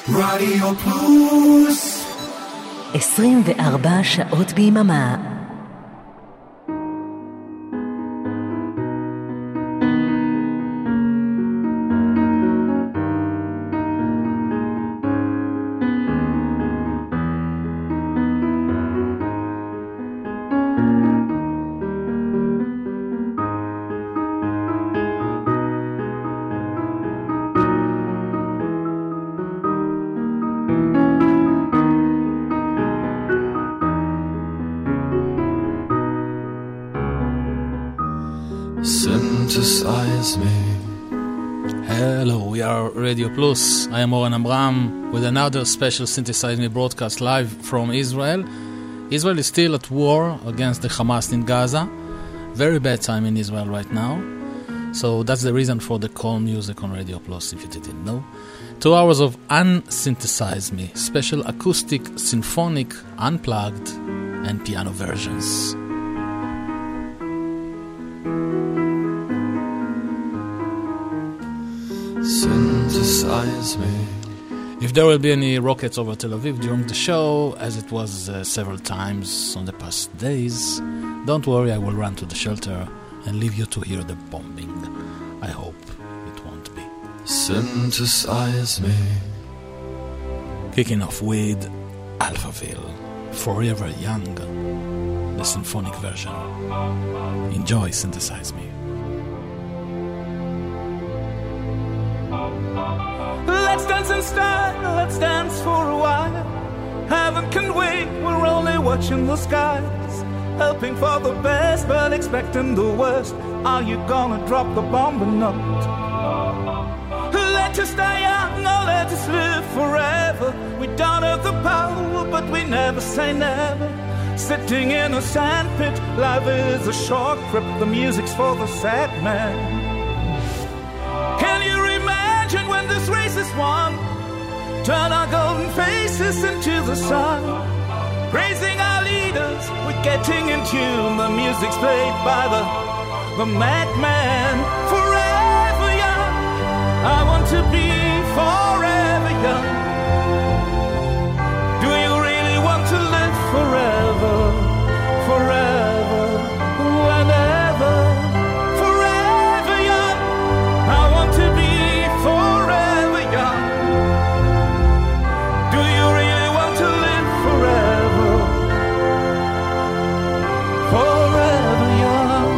רדיו פלוס 24 שעות ביממה. Synthesize me. Hello, we are Radio Plus. I am Oren Amram with another special Synthesize Me broadcast live from Israel. Israel is still at war against the Hamas in Gaza. Very bad time in Israel right now. So that's the reason for the calm music on Radio Plus, if you didn't know. 2 hours of Unsynthesize Me, special acoustic, symphonic, unplugged, and piano versions. Synthesize me. If there will be any rockets over Tel Aviv during the show, as it was several times on the past days, don't worry, I will run to the shelter and leave you to hear the bombing. I hope it won't be. Synthesize me. Kicking off with Alphaville, Forever Young, the symphonic version. Enjoy Synthesize Me. Let's dance in style, let's dance for a while. Heaven can wait, we're only watching the skies. Hoping for the best, but expecting the worst. Are you gonna drop the bomb or not? Let us die young, or let us live forever. We don't have the power, but we never say never. Sitting in a sandpit, life is a short trip. The music's for the sad man. Can you imagine when this race is won? Turn our golden faces into the sun. Praising our leaders, we're getting in tune. The music's played by the madman. Forever young, I want to be forever young. Do you really want to live forever? Forever, whenever. Forever young, I want to be forever young. Do you really want to live forever? Forever young.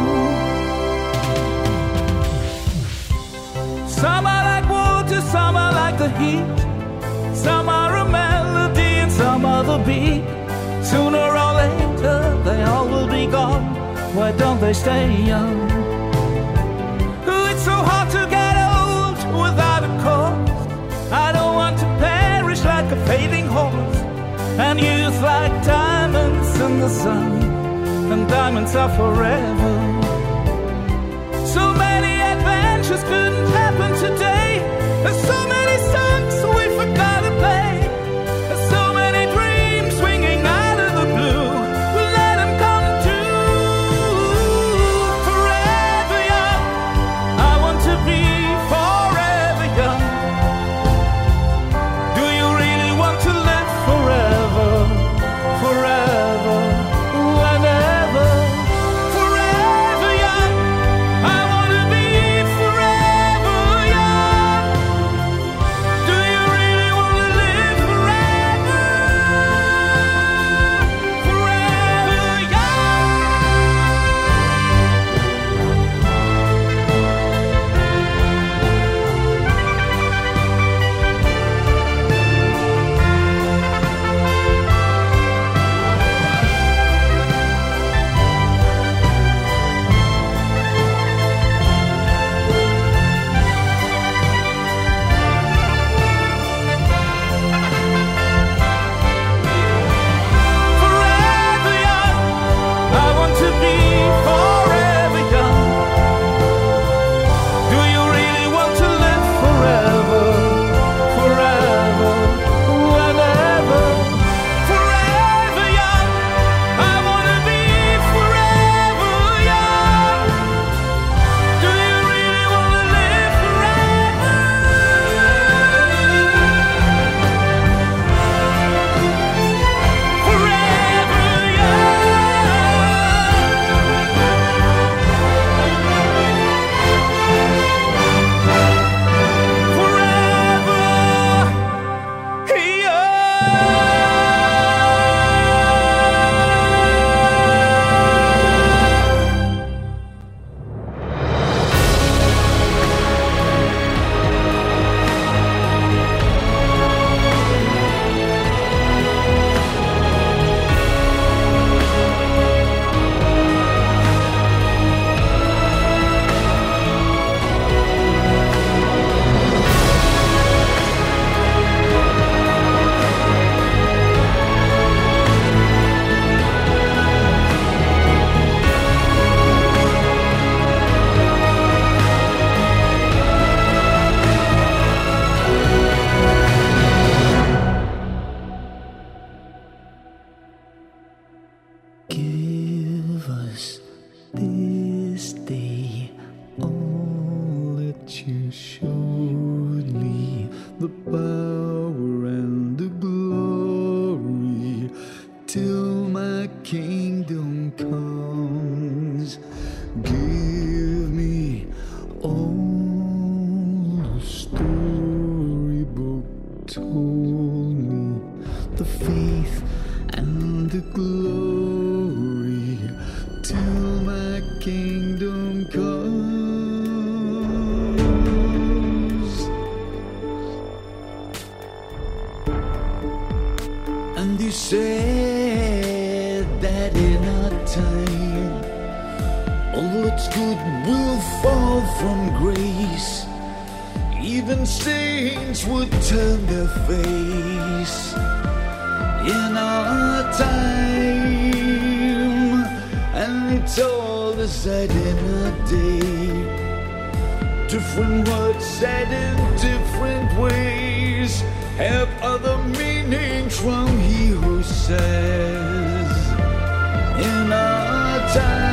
Some are like water, some are like the heat. Some are a melody and some are the beat. Sooner or later they all will be gone. Why don't they stay young? It's so hard to get old without a cause. I don't want to perish like a fading horse. And youth like diamonds in the sun. And diamonds are forever. So many adventures couldn't happen today. There's so many songs we forgot to play. There's so many dreams swinging out of the blue. Let them come true. Forever young, I want to be forever young. Do you really want to live forever? Forever, whenever. Forever assuredly the power and the glory till my kingdom comes. Give me all the storybook told me, the faith and the glory till my kingdom comes. And you said that in our time all that's good will fall from grace. Even saints would turn their face in our time. And they told us that in our day, different words said in different ways have other meanings from he who says in our time.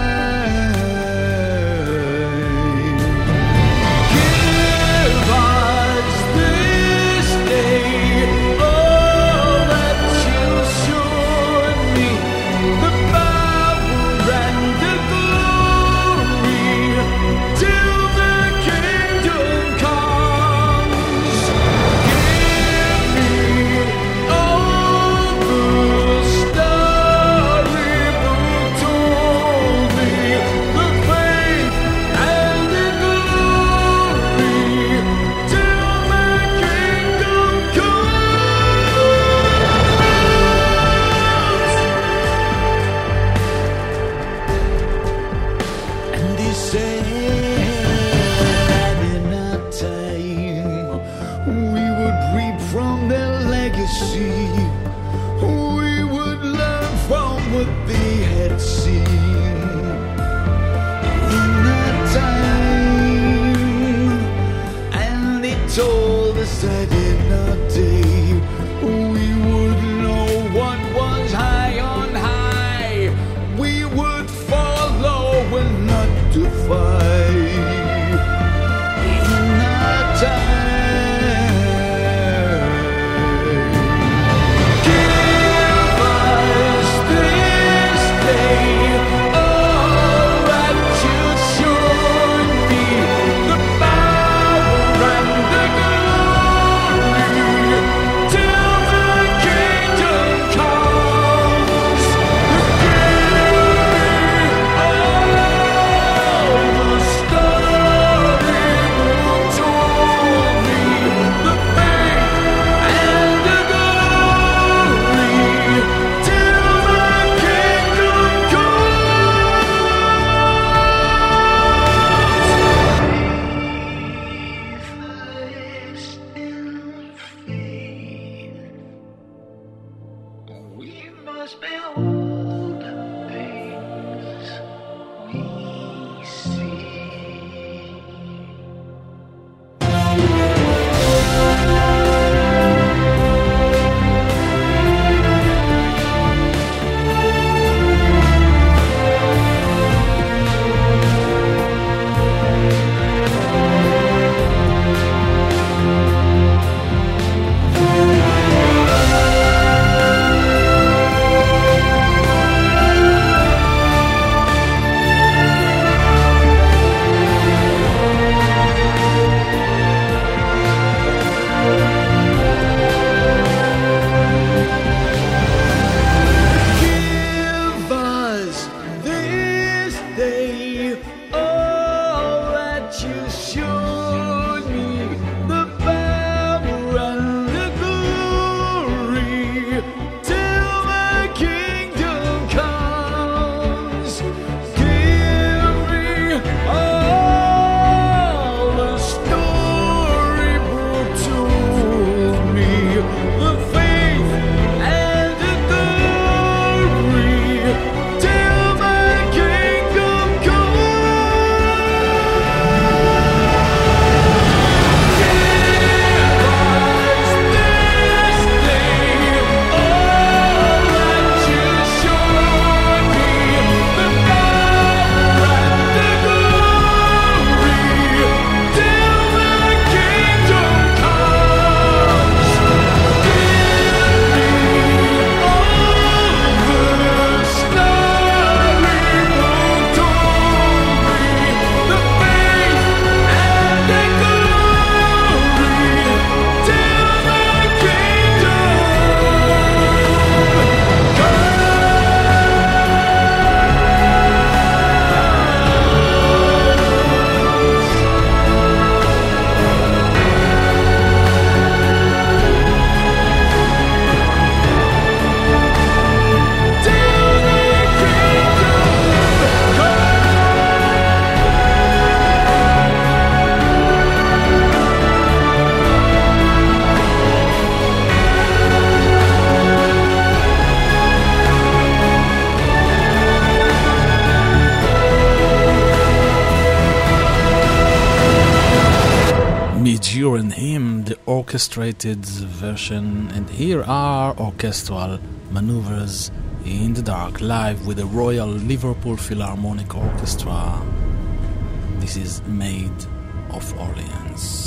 During Him, the orchestrated version, and here are orchestral maneuvers in the dark, live with the Royal Liverpool Philharmonic Orchestra. This is Maid of Orleans.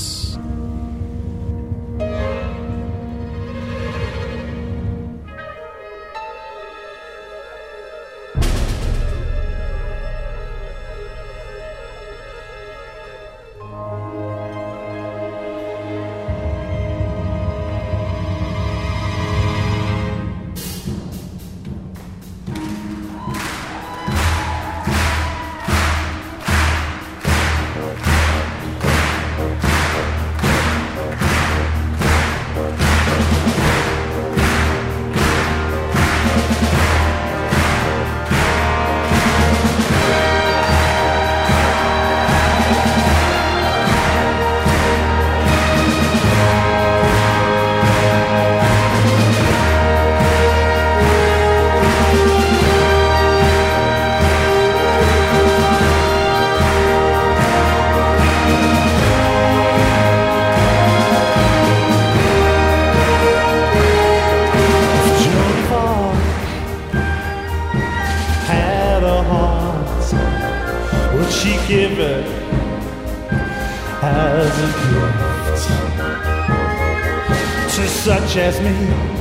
As me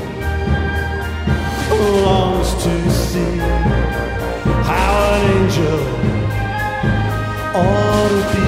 longs to see how an angel ought to be.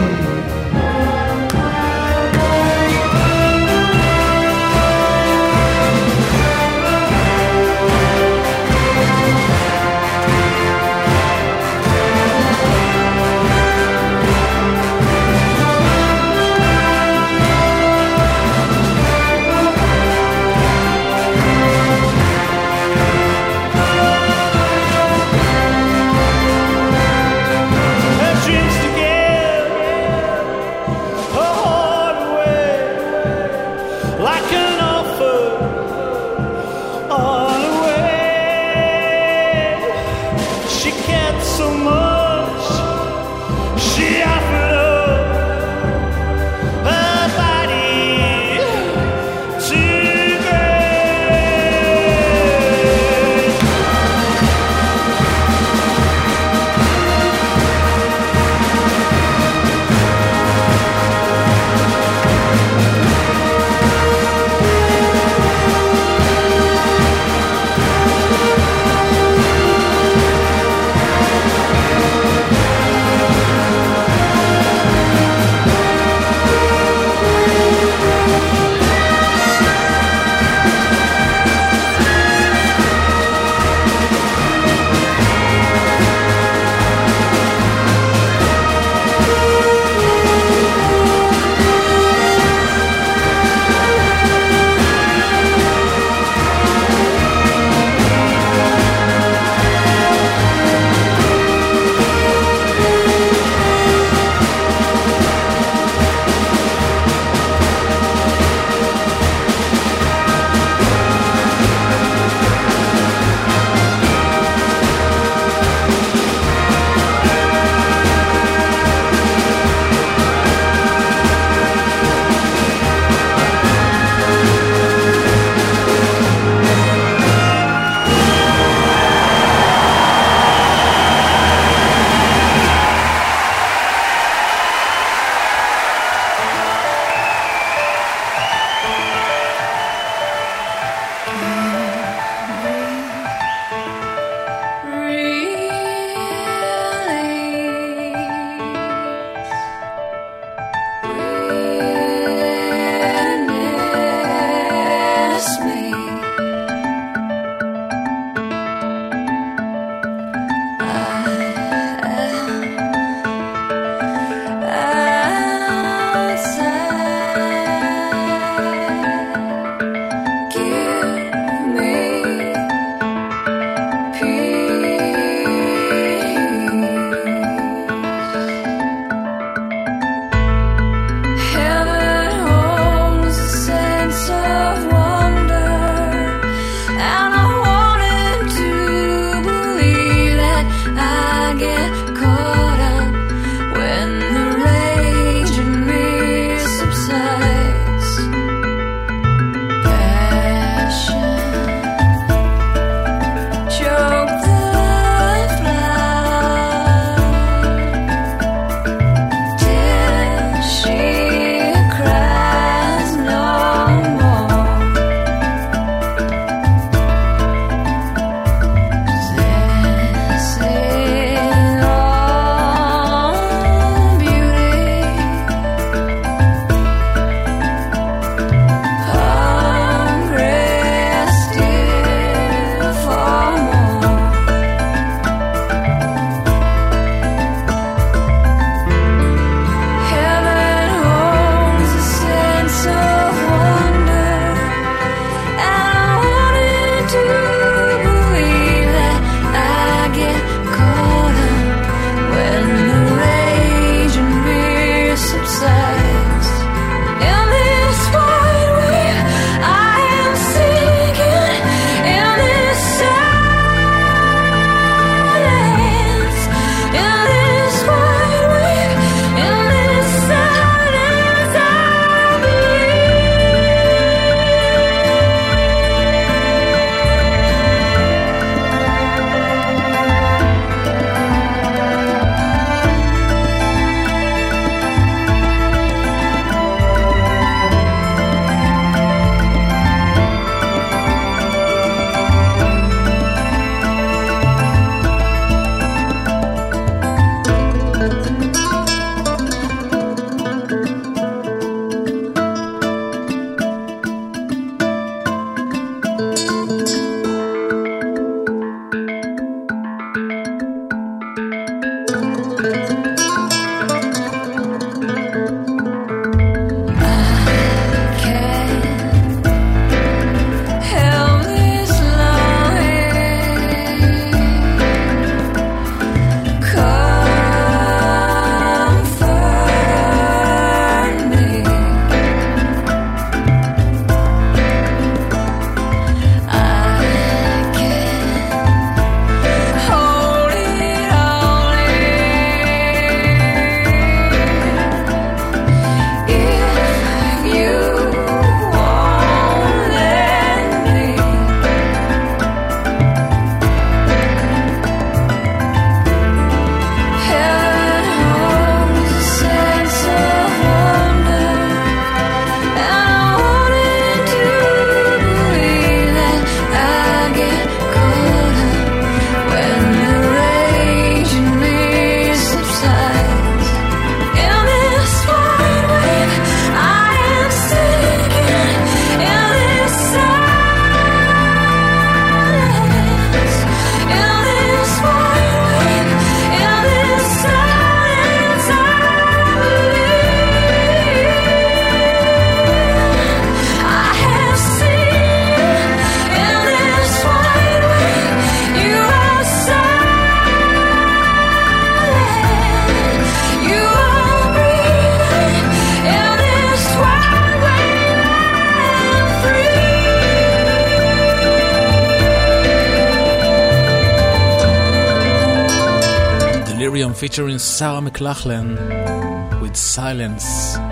featuring Sarah McLachlan with Silence,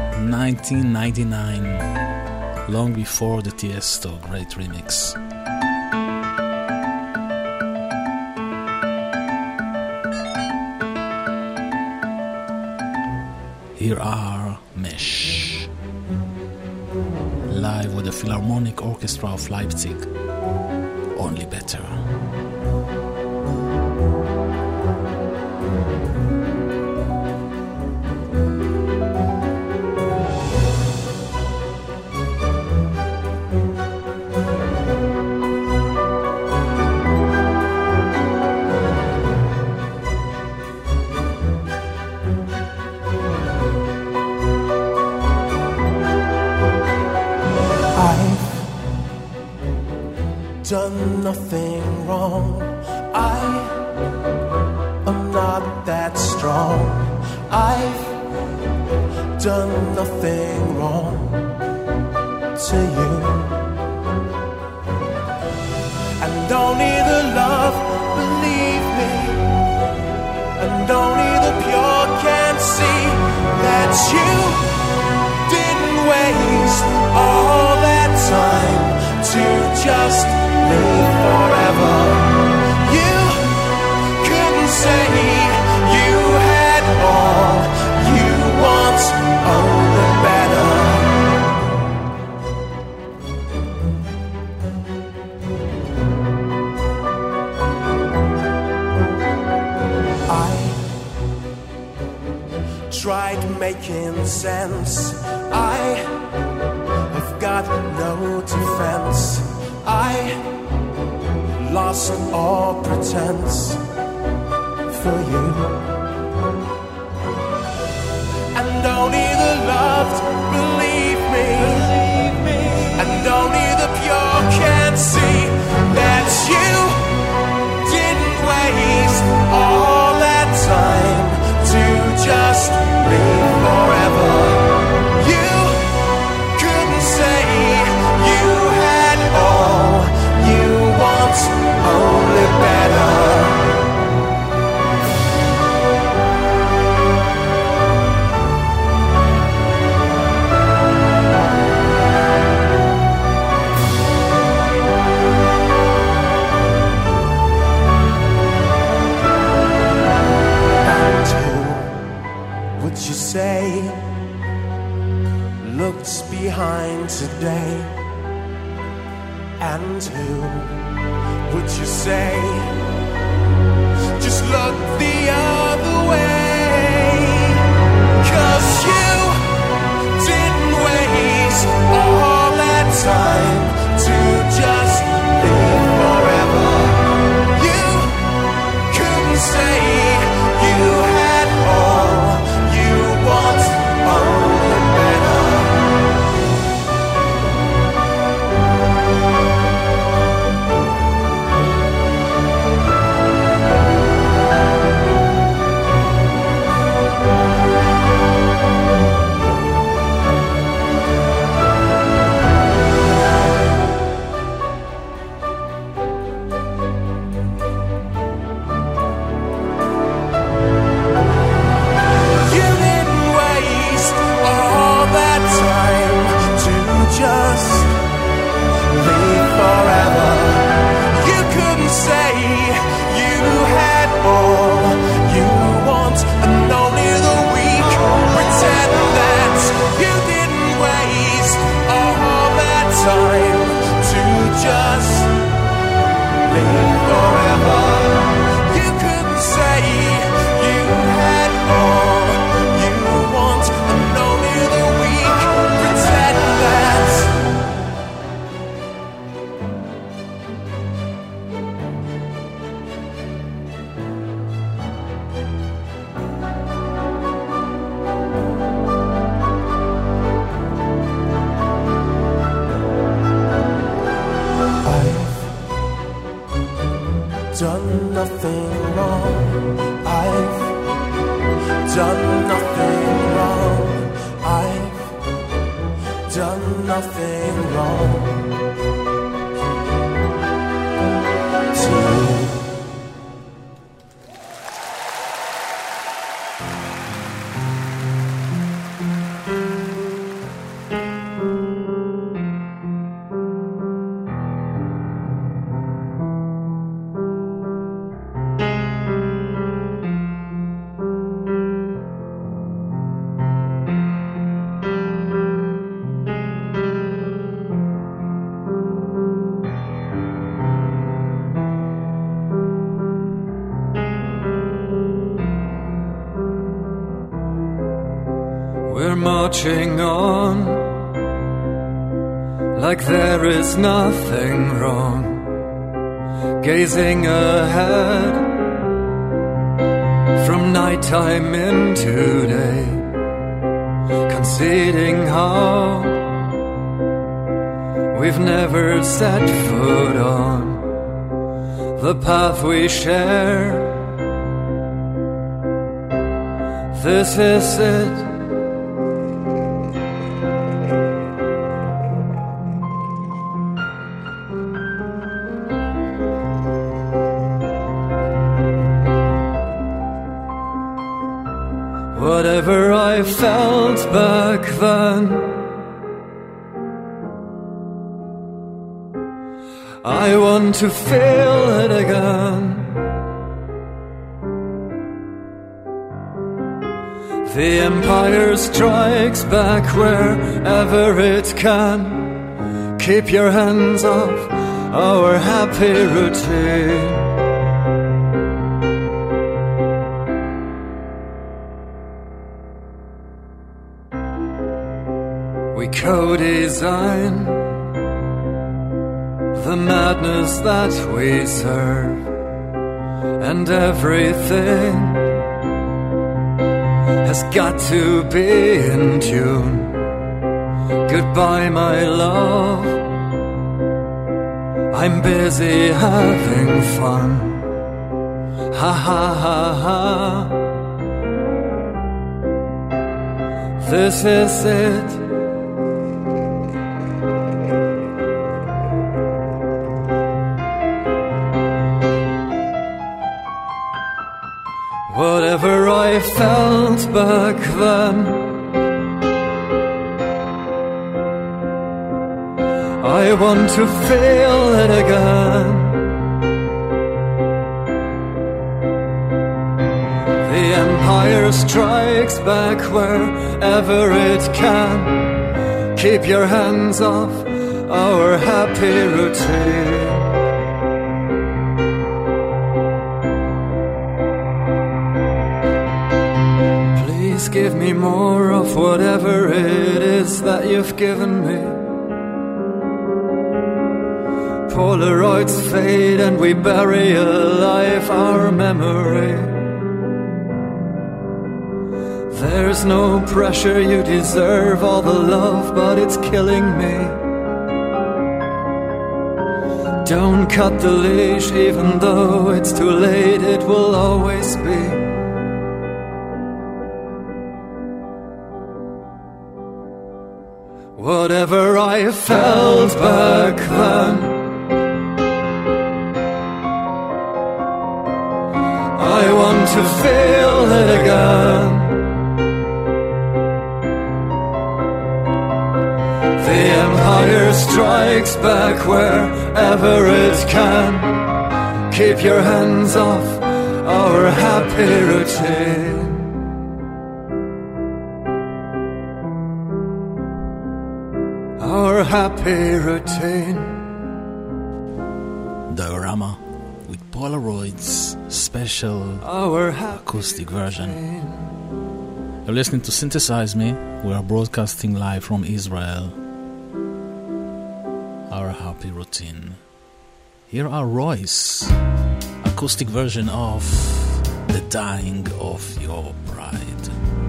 1999, long before the Tiesto great remix. Here are Mesh, live with the Philharmonic Orchestra of Leipzig, Only Better. Done nothing wrong. I am not that strong. I've done nothing wrong to you. And only the love, believe me, and only the pure can see that you didn't waste all that time to just live forever. You couldn't say you had all you want, only better. I tried making sense. I have got no defense. I lost all pretense for you. And only the loved believe me, and only the pure can see that you didn't waste all that time to just live forever. You couldn't say you had all you want, only better. And who would you say looks behind today? And who would you say just look the other way? 'Cause you didn't waste all that time to just live forever. You couldn't say you had all you want, only better. Just live forever. You couldn't say you had all you want, and only the weak pretend that you didn't waste all that time to just live forever. You couldn't say you had all you want, and only the weak pretend that. Done nothing wrong. I've done nothing wrong. I've done nothing wrong to you. marching on like there is nothing wrong, gazing ahead from nighttime into day, conceding how we've never set foot on the path we share. This is it. Whatever I felt back then, I want to feel it again. The empire strikes back wherever it can. Keep your hands off our happy routine. We co-design the madness that we serve, and everything has got to be in tune. Goodbye, my love, I'm busy having fun. Ha ha ha ha. This is it. Whatever I felt back then, I want to feel it again. The empire strikes back wherever it can. Keep your hands off our happy routine. Give me more of whatever it is that you've given me. Polaroids fade and we bury alive our memory. There's no pressure, you deserve all the love, but it's killing me. Don't cut the leash, even though it's too late, it will always be. Whatever I felt back then, I want to feel it again. The empire strikes back wherever it can. Keep your hands off our happy routine. Our happy routine. Diorama with Polaroids, special acoustic version. You're listening to Synthesize Me. We are broadcasting live from Israel. Our happy routine. Here are Royce, acoustic version of The Dying of Your Pride.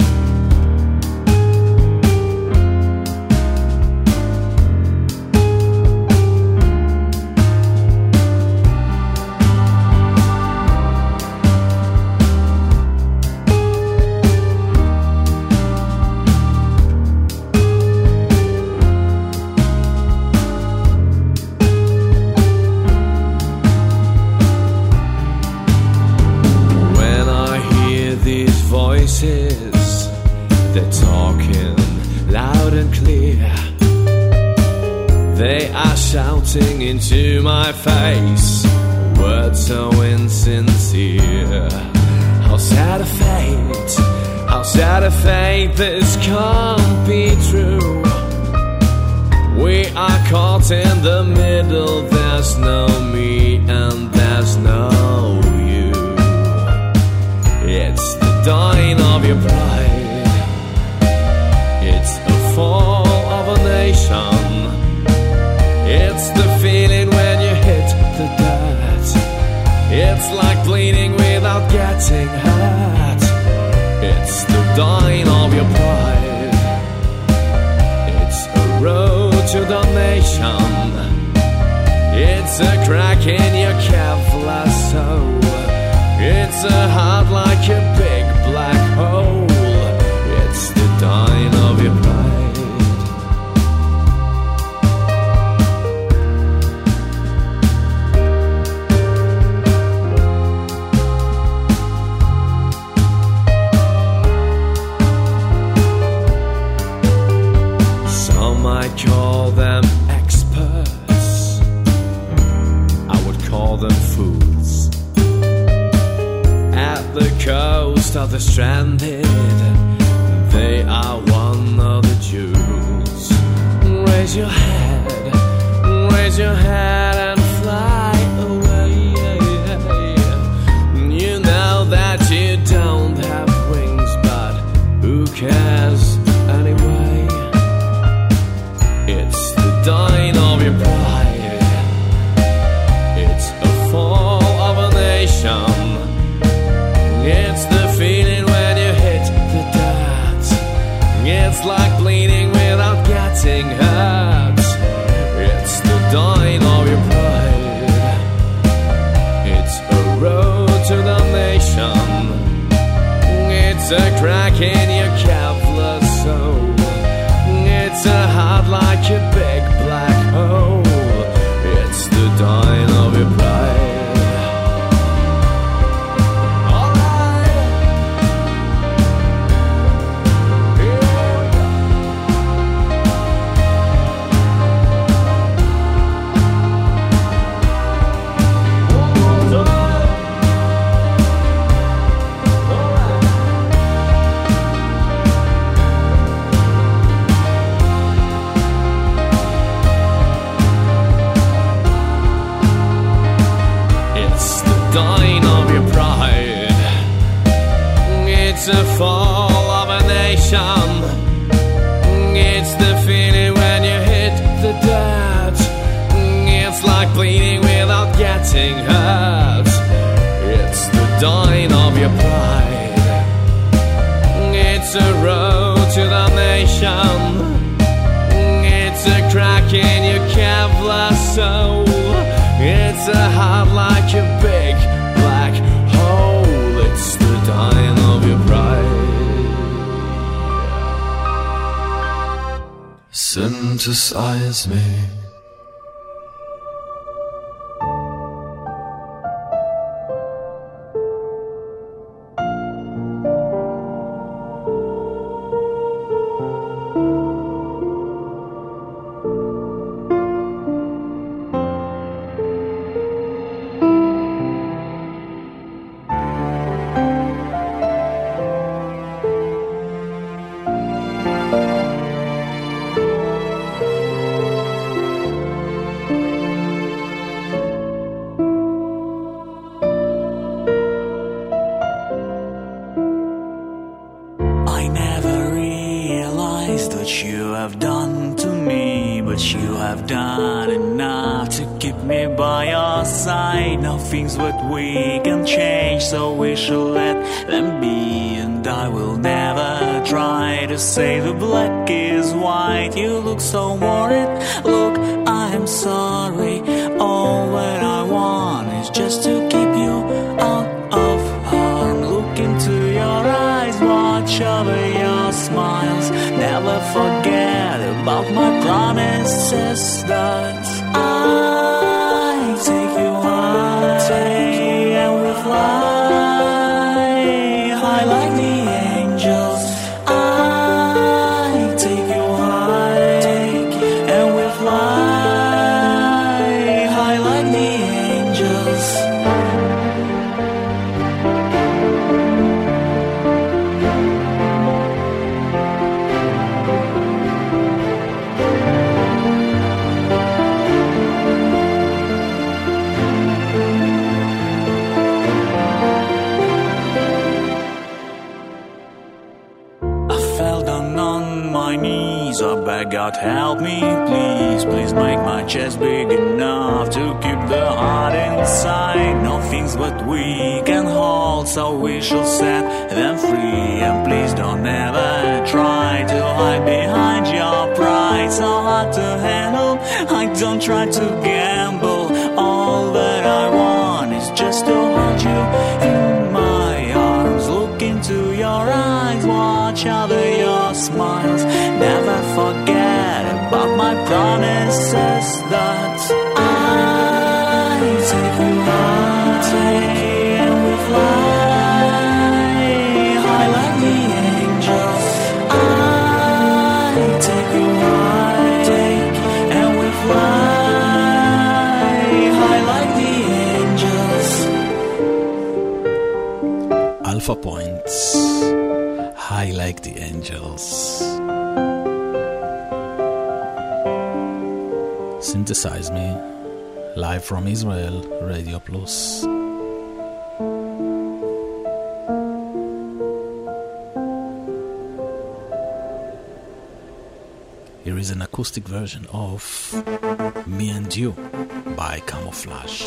They're talking loud and clear. They are shouting into my face words so insincere. How sad a fate, how sad a fate, this can't be true. We are caught in the middle, there's no me and there's no you. It's the dying of your pride, it's getting hurt. It's the dying of your pride. It's a road to damnation. It's a crack in your Kevlar soul. It's a heart like a big black hole. It's the dying of your pride. I call them experts, I would call them fools. At the coast of the stranded, they are one of the Jews. Raise your head and fly away. You know that you don't have wings, but who cares anyway? It's the dying of your pride. It's a fall of a nation. It's the feeling when you hit the dirt. It's like bleeding without getting hurt. It's the dying of your pride. It's a road to damnation. It's a crack in your Kevlar soul. It's a heart like a big black hole. It's the dying of your pride. It's a fall of a nation. It's the feeling when you hit the dirt. It's like bleeding without getting hurt. It's the dying of your pride. It's a road to the nation. It's a crack in your Kevlar soul. It's a heart like a big black hole. It's the dying of your pride. Synthesize me. Things what we can change, so we should let them be. And I will never try to say the black is white. You look so worried. Look, I am sorry. All what I want is just to keep you out of harm. Look into your eyes, watch over your smiles. Never forget about my promises that I take you high, and we fly high like the angels. I take you high, and we fly high like the angels. God help me, please, please make my chest big enough to keep the heart inside. Nothing things but we can hold, so we shall set them free. And please don't ever try to hide behind your pride, so hard to handle. I don't try to gamble. All that I want is just to hold you in my arms, look into your eyes, watch over your smiles. Never forget about my promises that I take you high and we fly high like the angels. I take you high and we fly high like the angels. Alpha Points, high like the angels. Synthesize Me, live from Israel, Radio Plus. Here is an acoustic version of Me and You by Camouflage.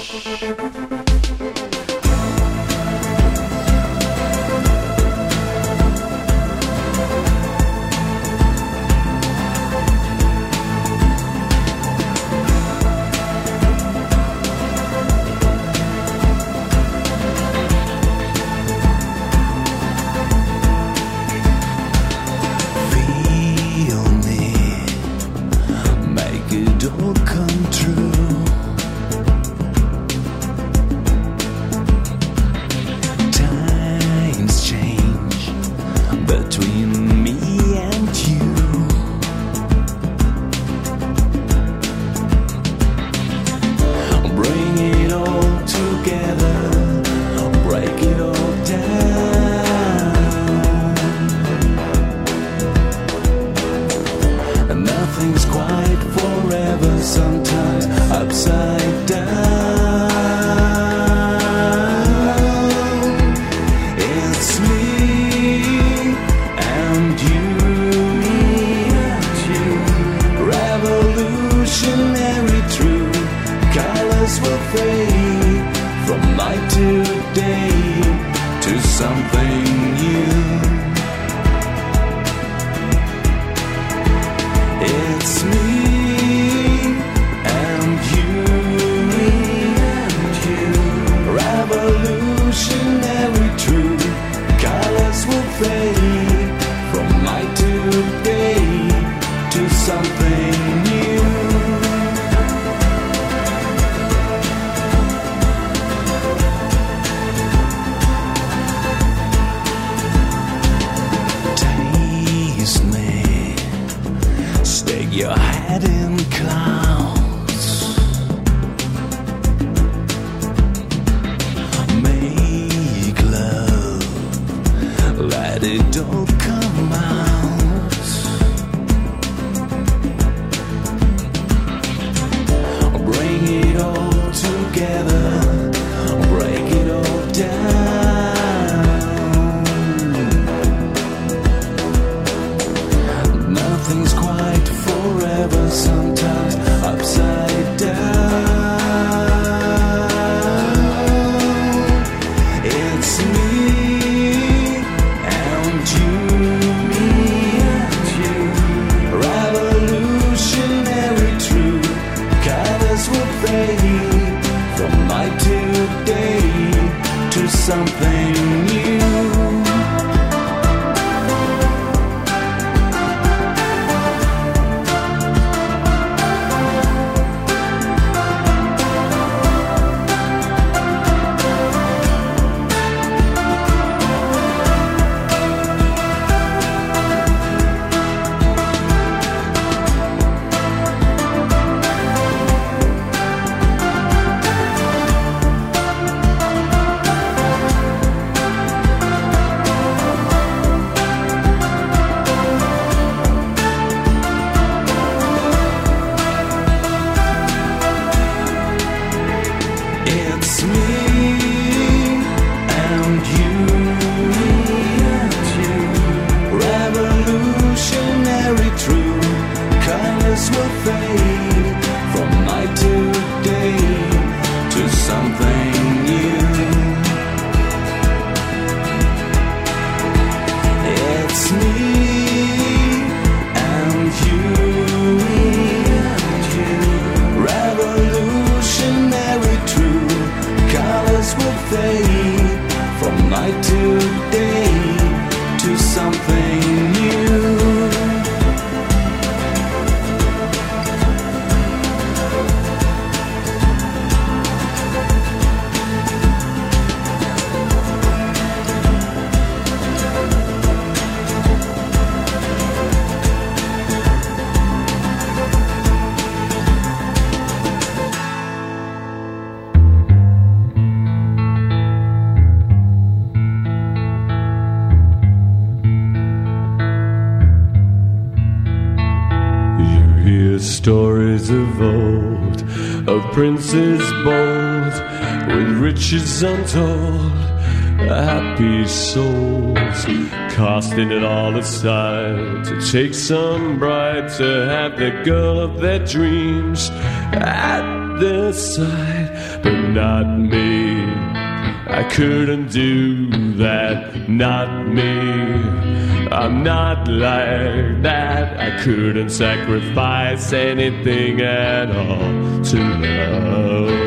From my of princes bold, with riches untold, happy souls, casting it all aside to take some bride, to have the girl of their dreams at their side. But not me, I couldn't do that, not me. I'm not like that. I couldn't sacrifice anything at all to love.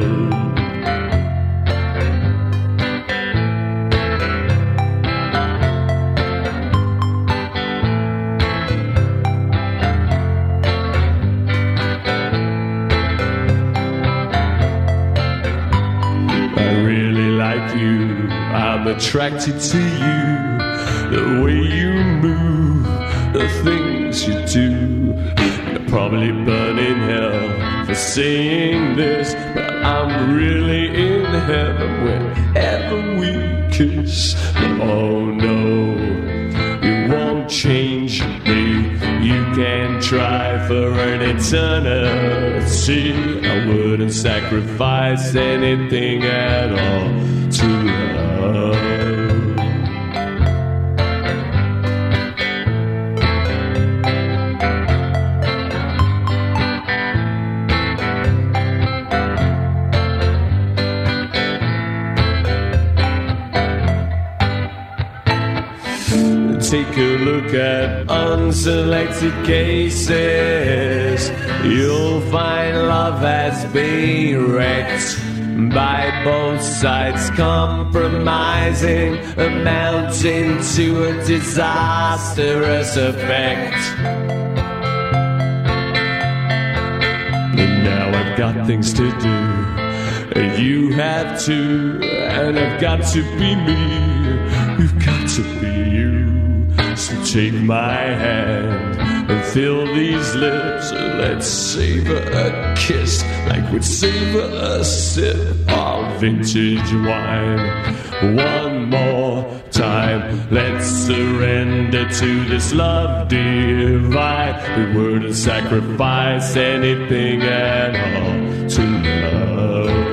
I really like you. I'm attracted to you. The way you move, the things you do. You'll probably burn in hell for saying this, but I'm really in heaven whenever we kiss. Oh no, you won't change me. You can try for an eternity. I wouldn't sacrifice anything at all to love. Take a look at unselected cases. You'll find love has been wrecked by both sides, compromising, amounting to a disastrous effect. And now I've got things to do, and you have to, and I've got to be me. You've got to be you. So take my hand and fill these lips, and let's savor a kiss like we'd savor a sip of vintage wine. One more time, let's surrender to this love divine. We wouldn't sacrifice anything at all to love.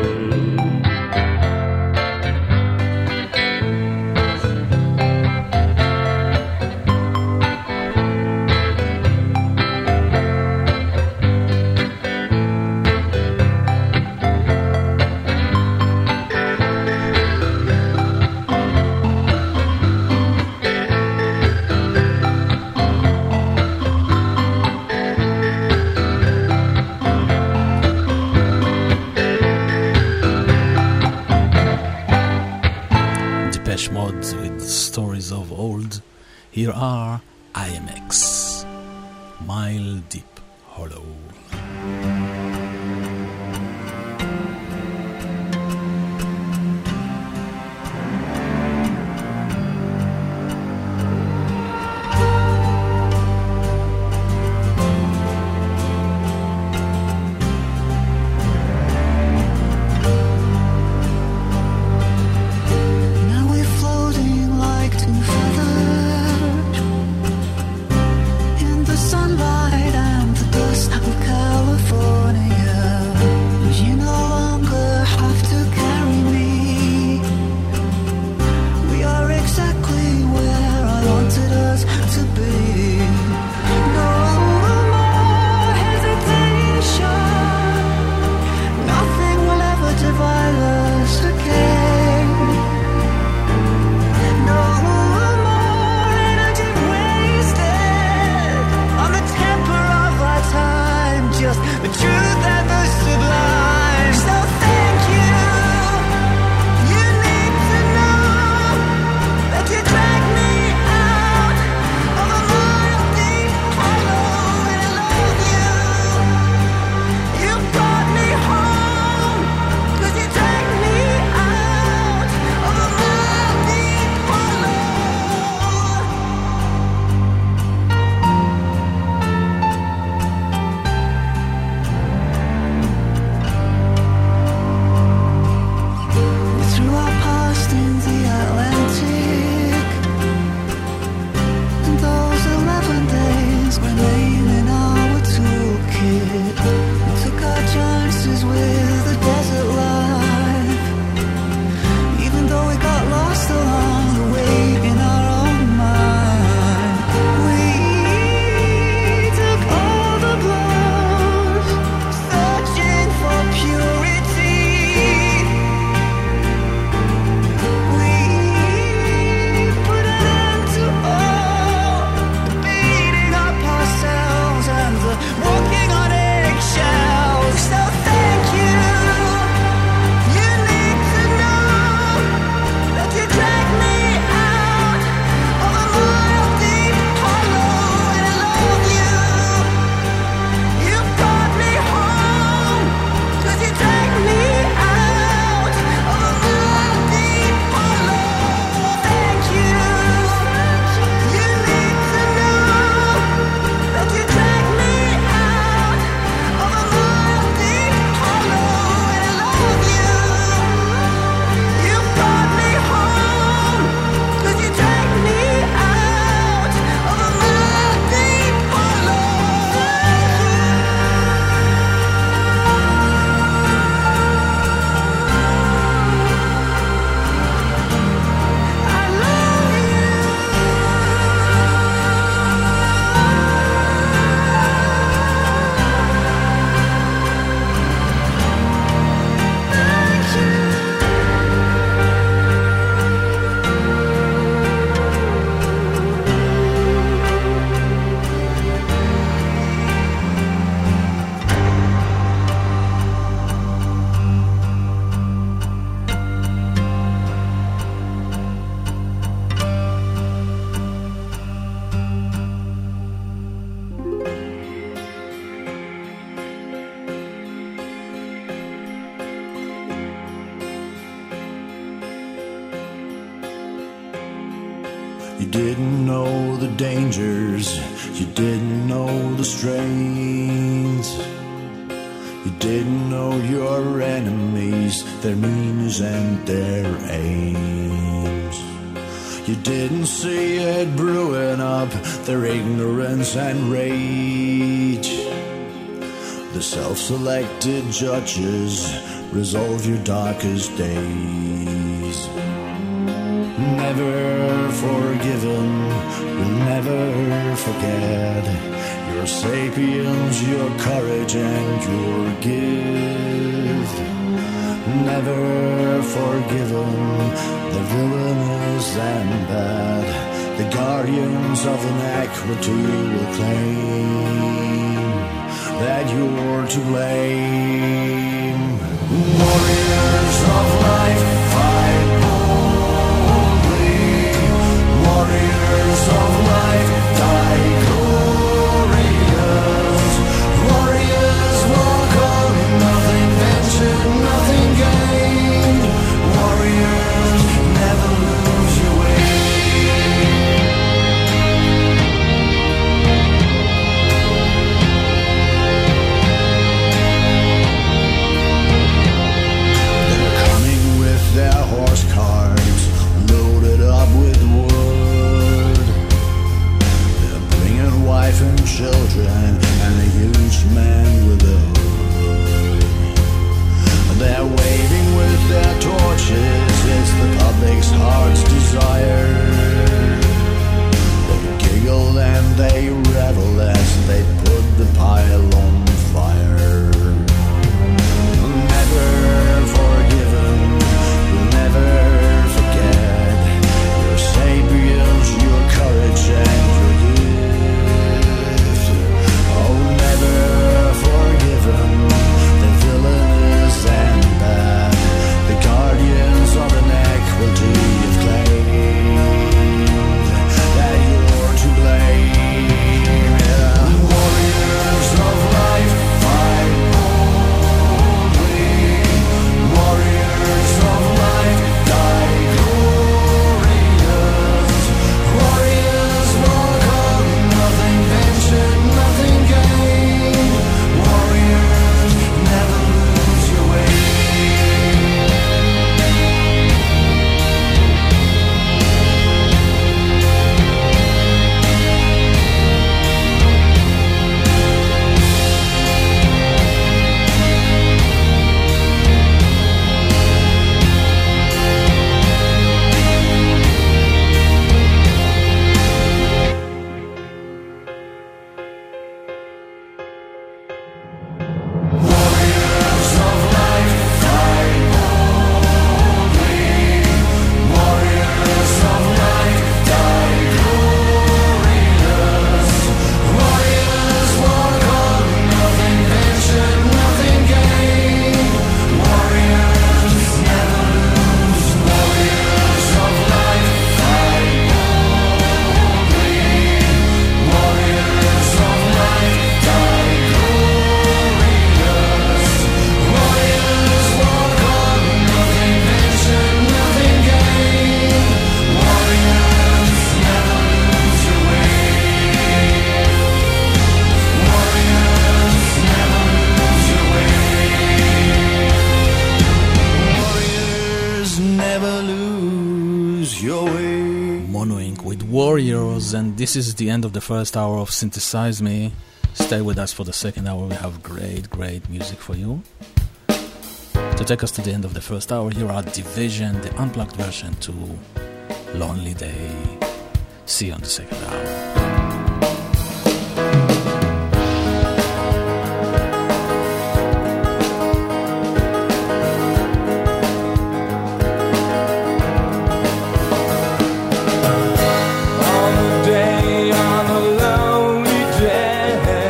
Here are IMX, Mile Deep Hollow. Sunlight and the dust of California. didn't know the dangers, you didn't know the strains. You didn't know your enemies, their means and their aims. You didn't see it brewing up, their ignorance and rage. The self-selected judges resolve your darkest days. Never forgiven, will never forget your sapience, your courage and your gift. Never forgiven, the villainous and bad, the guardians of inequity will claim that you're to blame. Warriors of life, fight boldly. Warriors of life, die glorious. Warriors walk on, nothing ventured, nothing gained. Warriors never lose your way. Their horse carts loaded up with wood. They're bringing wife and children and a huge man with a hood. They're waving with their torches, it's the public's heart's desire. They giggle and they revel as they put the pile on fire. Never forgiven, never forget your sapience, your courage and your gift. Oh, never forgiven, the villainous and bad, the guardians of inequity have claimed that you're to blame. Yeah. Warriors of life, fight boldly. Warriors of life, die glorious. Warriors walk on, nothing ventured, nothing gained. Warriors never lose your way. Warriors of life, fight boldly. Warriors of life, die glorious. Warriors walk on, nothing ventured, nothing gained. Warriors never lose. Warriors of life, fight boldly. Warriors of life, die glorious. Warriors walk on, nothing ventured, nothing gained. Warriors never lose your way. Warriors never lose your way. Warriors never lose your way. Mono Inc. with Warriors, and this is the end of the first hour of Synthesize Me. Stay with us for the second hour, we have great music for you. To take us to the end of the first hour, here are Division, the unplugged version to Lonely Day. See you on the second hour. On a day, on a lonely day,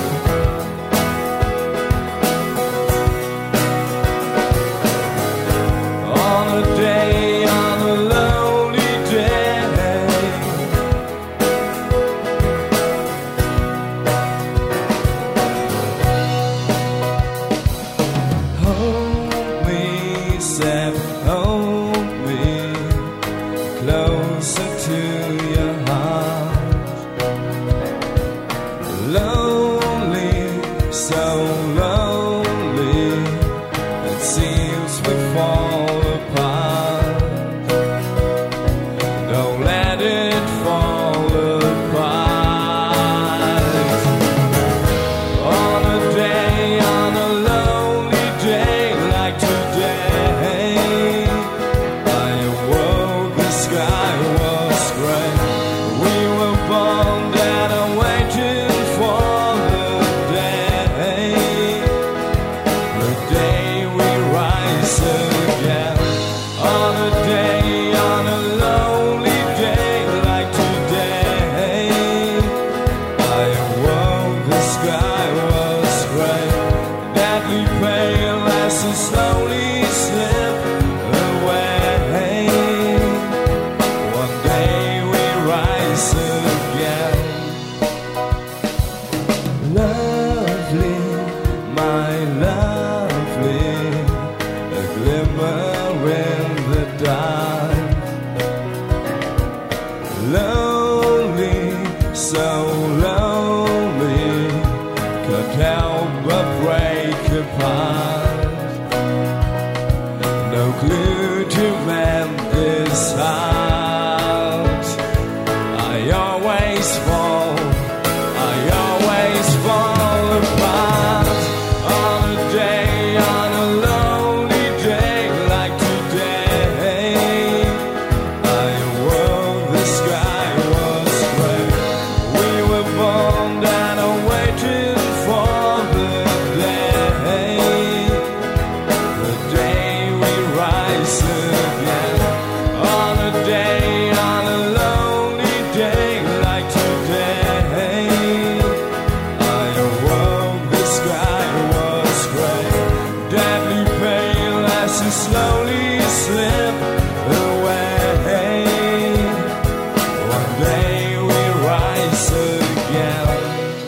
on a day, on a lonely day, deadly pale as they slowly slip away. One day we rise again. Lovely, my lovely, a glimmer in the dark. Lonely, so lonely, could help but break apart. No clue to mend this heart. I always fall apart. On a day, on a lonely day like today, I awoke, the sky was gray. We were born and are waiting for the day we rise again. On a day, on a lonely day like today, I awoke, the sky was gray. Deadly pale as it slowly slipped away. One day we rise again.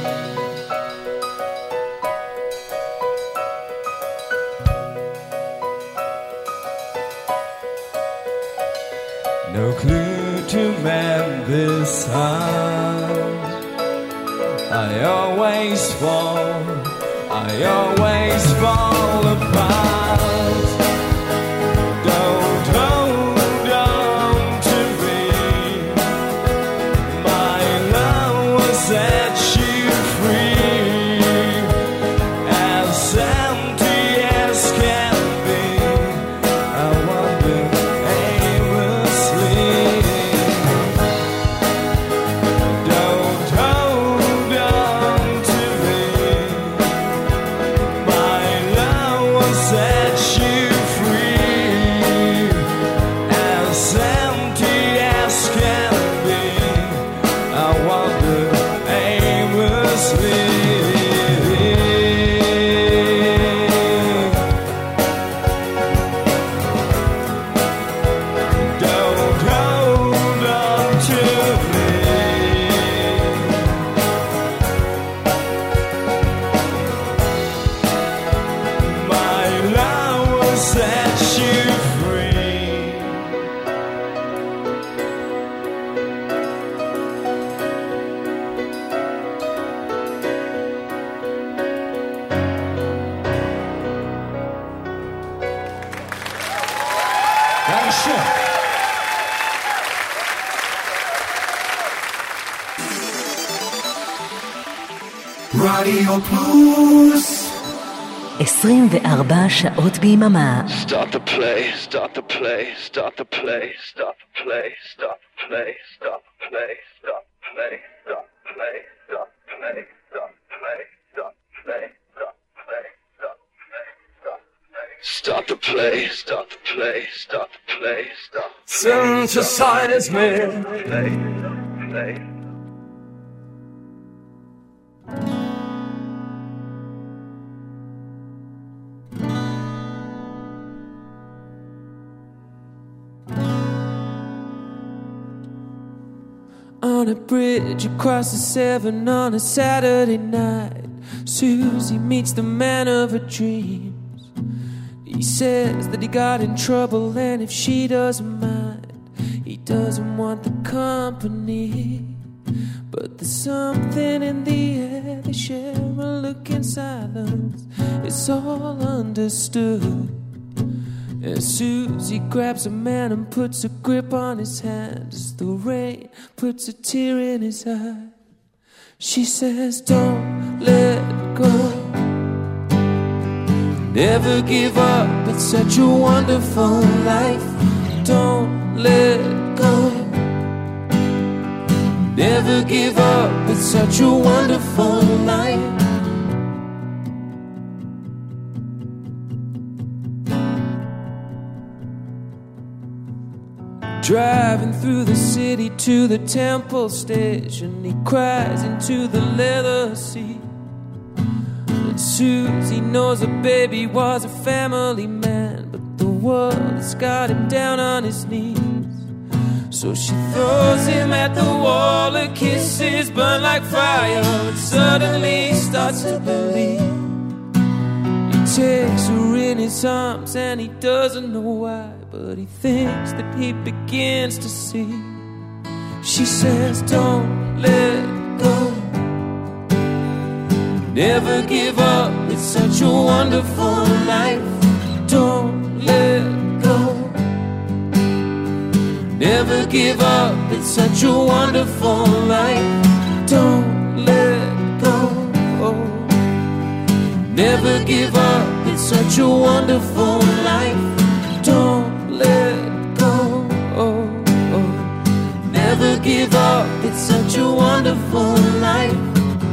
No clue to mend this heart. I always fall apart. Don't hold on to me. My love will set you free. As empty as can be, I wander aimlessly. Don't hold on to me. My love will set you free. As empty as can be, I wander aimlessly. Don't hold on to me. My love will set you free. Dankeschön. Radio Plus. 24 שעות ביממה. Start the play, start the play, start the play, start the play, start the play, start the play, start the play, start the play, start the play, start the play, start the play, start the play, start the play, start the play, start the play, start the play, start the play. Synthesize me. Play, play. On a bridge across the Severn on a Saturday night, Susie meets the man of her dreams. He says that he got in trouble and if she doesn't mind, he doesn't want the company. But there's something in the air, they share a look in silence, it's all understood. And Susie grabs a man and puts a grip on his hand as the rain puts a tear in his eye. She says, don't let go, never give up, it's such a wonderful life. Don't let go, never give up, it's such a wonderful life. Driving through the city to the Temple Station, he cries into the leather seat. And Susie knows her baby was a family man, but the world has got him down on his knees. So she throws him at the wall, her kisses burn like fire, and suddenly starts to believe. He takes her in his arms and he doesn't know why, but he thinks that he begins to see. She says, don't let go, never give up, it's such a wonderful life. Don't let go, never give up, it's such a wonderful life. Don't let go, never give up, it's such a wonderful life. Don't let go, never give up, it's such a wonderful life.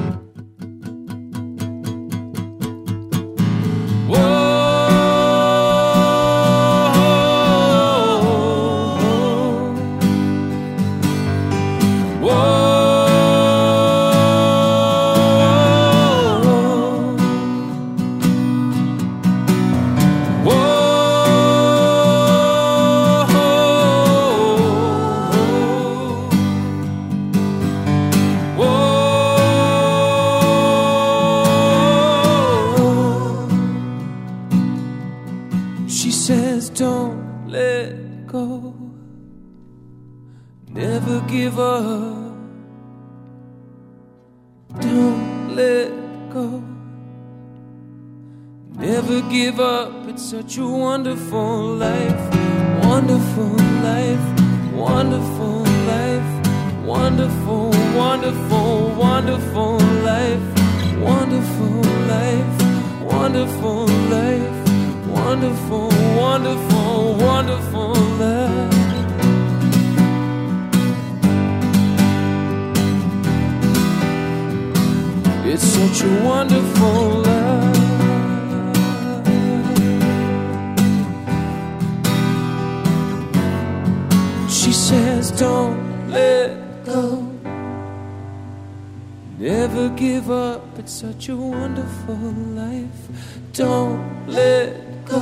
Give up, don't let go, never give up, it's such a wonderful life, wonderful life, wonderful life, wonderful, wonderful, wonderful life, wonderful life, wonderful life, wonderful, wonderful, wonderful life. It's such a wonderful life. She says, don't let go, never give up, it's such a wonderful life. Don't let go,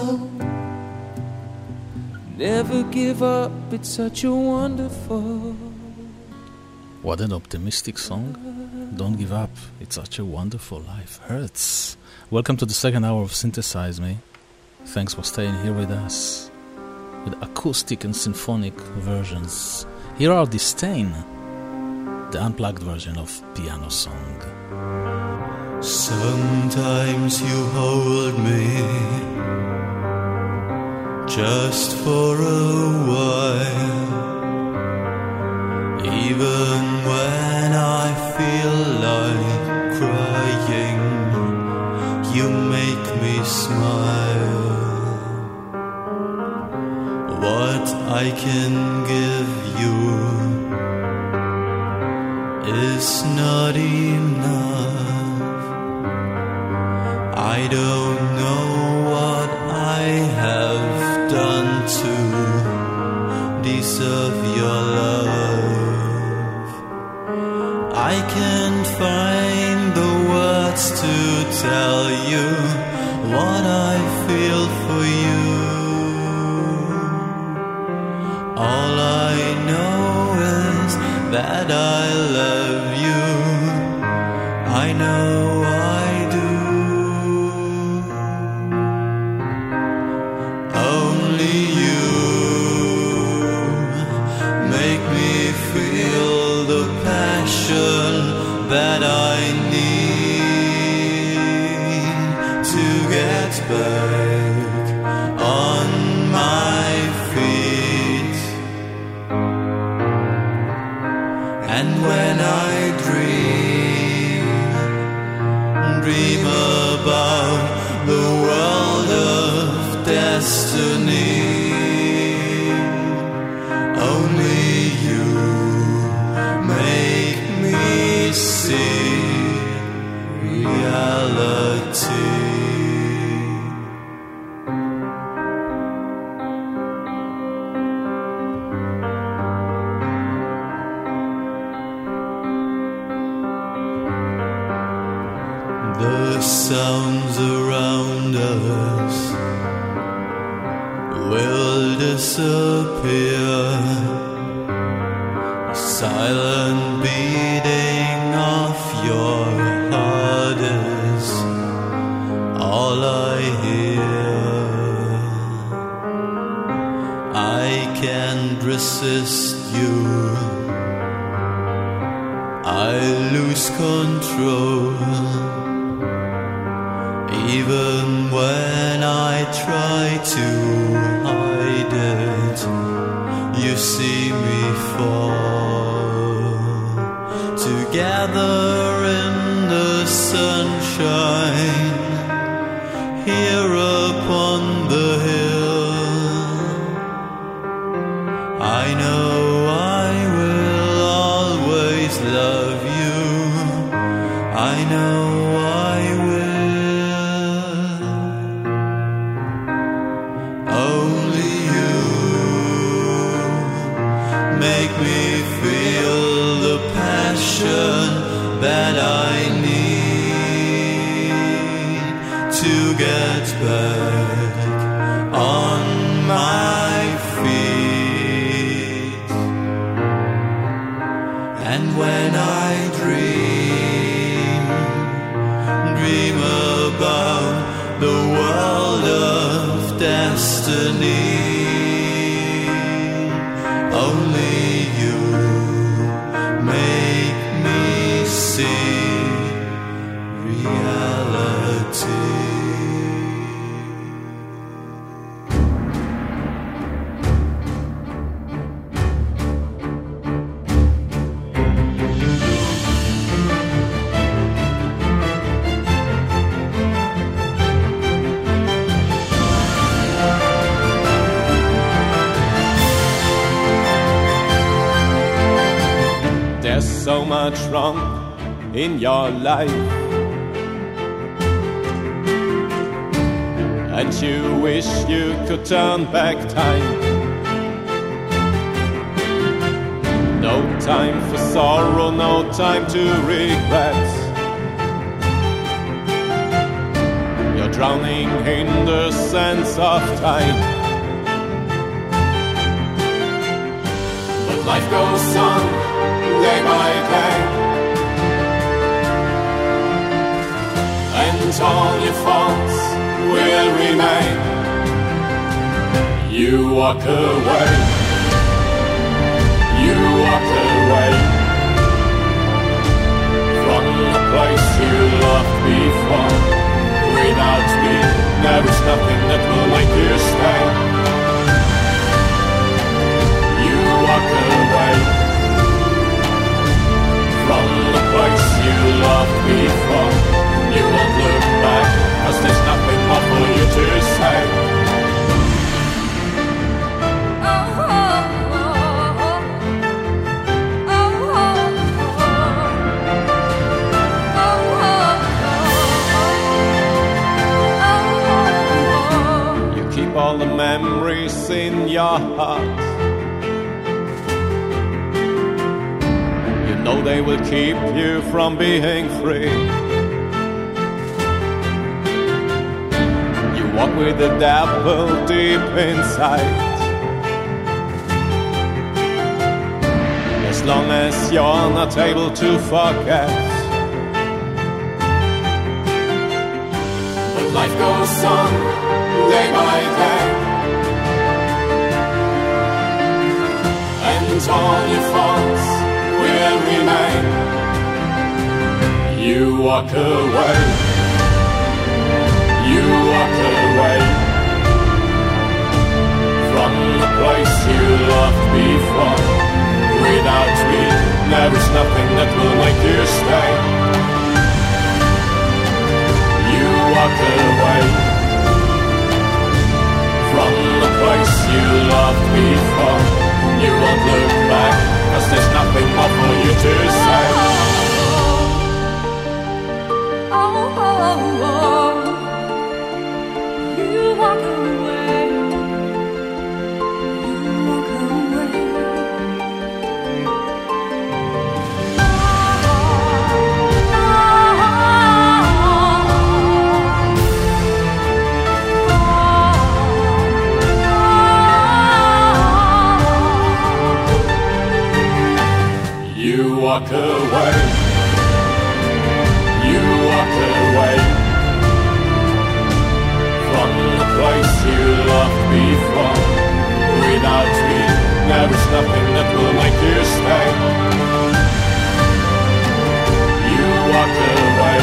never give up, it's such a wonderful. What an optimistic song. Don't give up, it's such a wonderful life. Hurts. Welcome to the second hour of Synthesize Me. Thanks for staying here with us with acoustic and symphonic versions. Here are Disdain, the unplugged version of Piano Song. Sometimes you hold me just for a while, even when I feel like crying, you make me smile. What I can give you is not enough. I don't know what I have done to deserve your love. I can't find the words to tell you what I feel for you. All I know is that I love you. I know I do. Only you make me feel the passion that I need to get back on my feet. And when I dream about the world of destiny, only you make me see reality. The sound waters will disappear. The silent beating of your heart is all I hear. I can't resist you. I lose control. Even when I try to hide it, you see me fall. Together in the sunshine, here upon the hill, I know I will always love you. I know I will. Only you make me feel the passion that I need to get back on my feet. And when I dream about the world of destiny, only you make me see reality. There's so much wrong in your life, and you wish you could turn back time. No time for sorrow, no time to regret. You're drowning in the sands of time. But life goes on day by day, and all your faults will remain. You walk away, you walk away from the place you loved before. Without me, there is nothing that will make you stay. You walk away from the place you loved before. You won't look back, 'cause there's nothing more for you to say. You keep all the memories in your heart. No, they will keep you from being free. You walk with the devil deep inside. As long as you're not able to forget. But life goes on day by day, and all your faults will remain. You walk away, you walk away from the place you loved before. Without me, there is nothing that will make you stay. You walk away from the place you loved before. You won't look back, 'cause there's nothing more for you to say. You walk away, you walk away. walk away. You walk away from the place you loved before. Without me, there is nothing that will make you stay. You walk away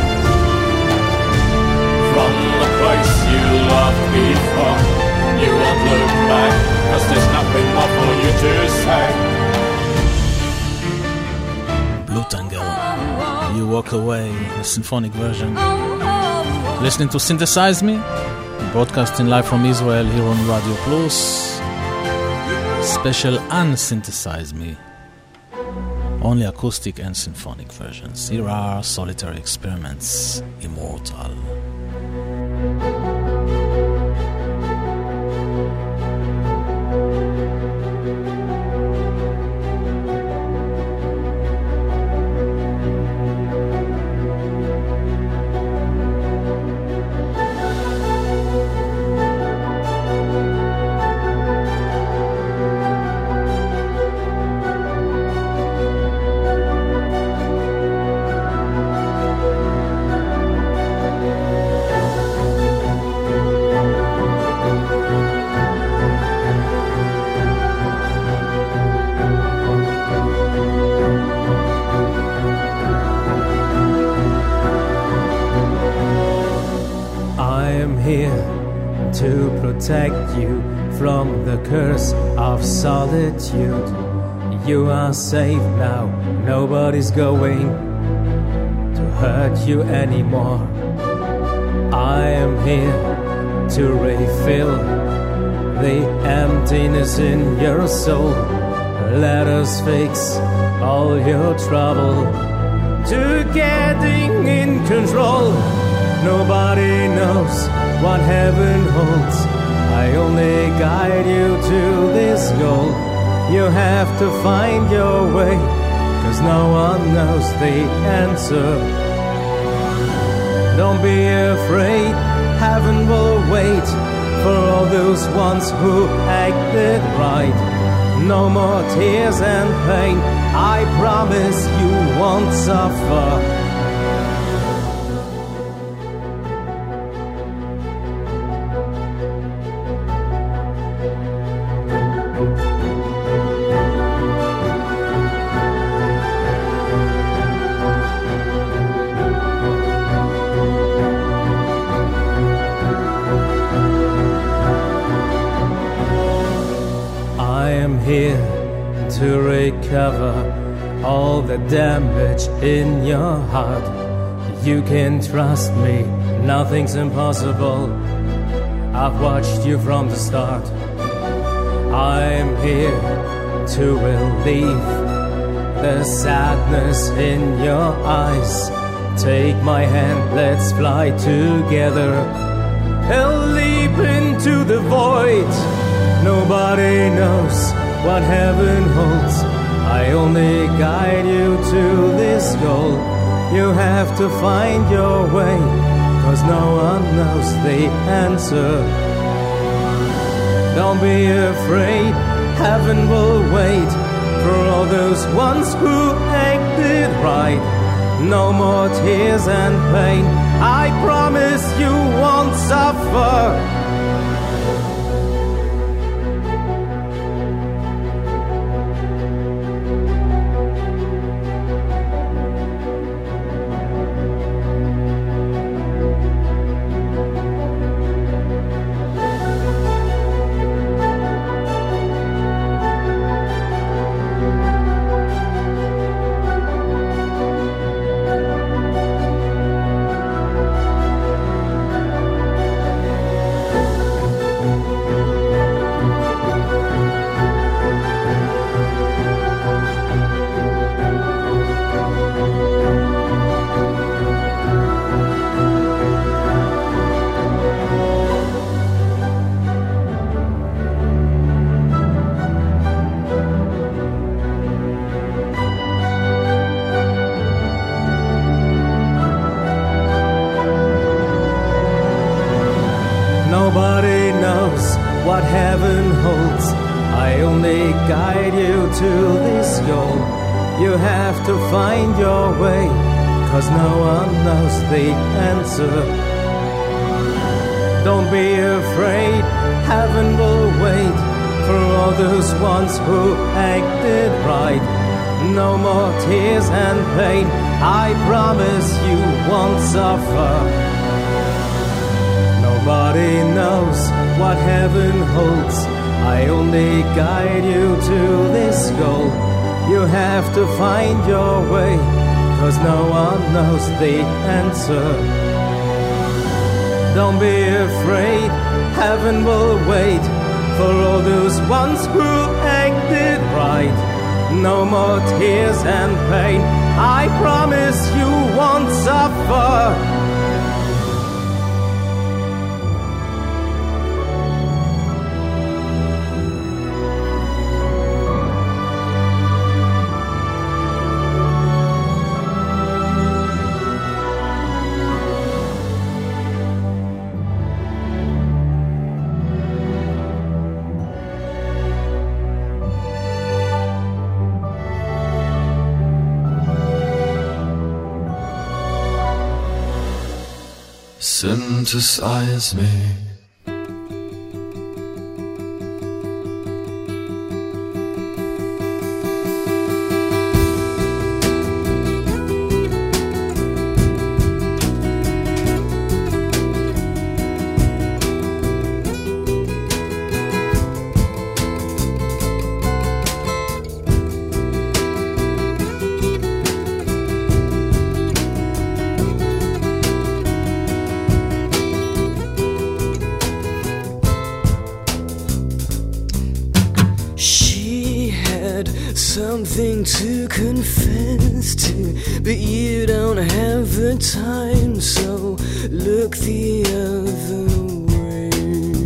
from the place you loved before. You won't look back, 'cause there's nothing more for you to say. Blue Tangle, You Walk Away, a symphonic version. Listening to Synthesize Me, broadcasting live from Israel here on Radio Plus. Special Unsynthesize Me, only acoustic and symphonic versions. Here are Solitary Experiments, Immortal. Protect you from the curse of solitude. You are safe now, nobody's going to hurt you anymore. I am here to refill the emptiness in your soul. Let us fix all your trouble to getting in control. Nobody knows what heaven holds. I only guide you to this goal. You have to find your way, 'cause no one knows the answer. Don't be afraid, heaven will wait for all those ones who acted right. No more tears and pain, I promise you won't suffer. Here to recover all the damage in your heart. You can trust me, nothing's impossible. I've watched you from the start. I'm here to relieve the sadness in your eyes. Take my hand, let's fly together and leap into the void. Nobody knows what heaven holds. I only guide you to this goal. You have to find your way, 'cause no one knows the answer. Don't be afraid, heaven will wait for all those ones who acted right. No more tears and pain, I promise you won't suffer. You have to find your way, 'cause no one knows the answer. Don't be afraid, heaven will wait for all those ones who acted right. No more tears and pain, I promise you won't suffer. Nobody knows what heaven holds, I only guide you to this goal. You have to find your way, 'cause no one knows the answer. Don't be afraid, heaven will wait for all those ones who acted right. No more tears and pain, I promise you won't suffer. Synthesize me. Something to confess to, but you don't have the time, so look the other way.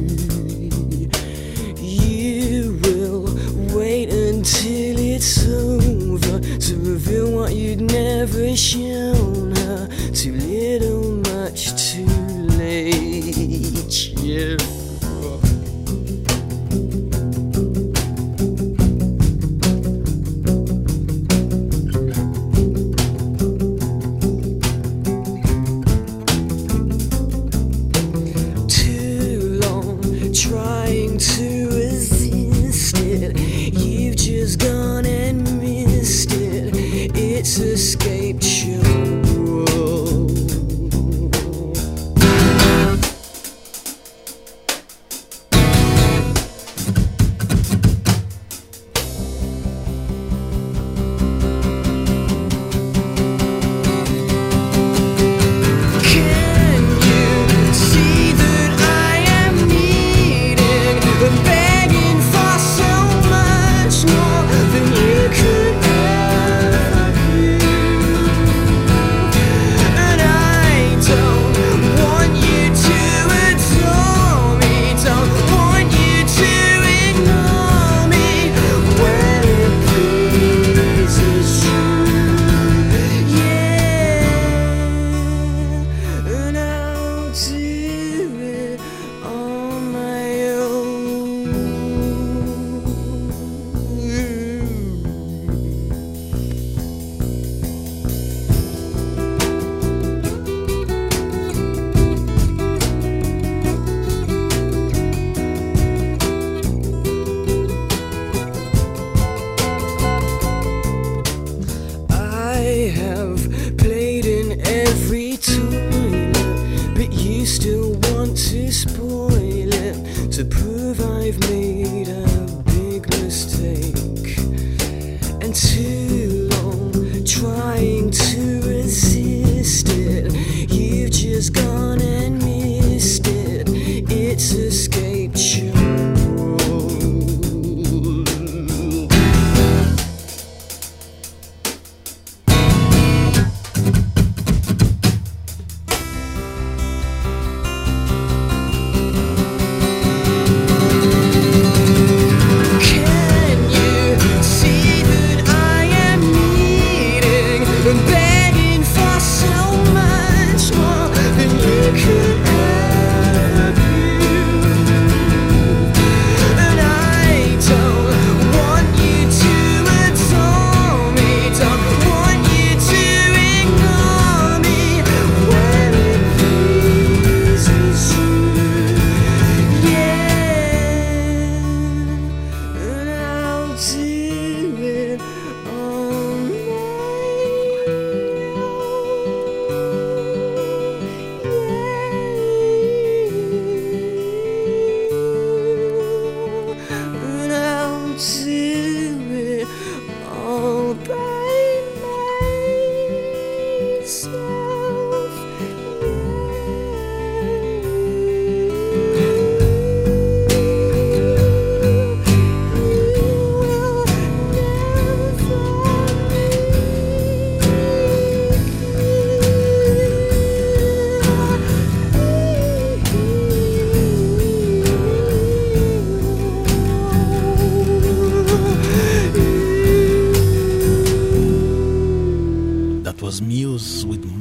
You will wait until it's over to reveal what you'd never shown her. Too little, much too late. Yeah. Escaped you.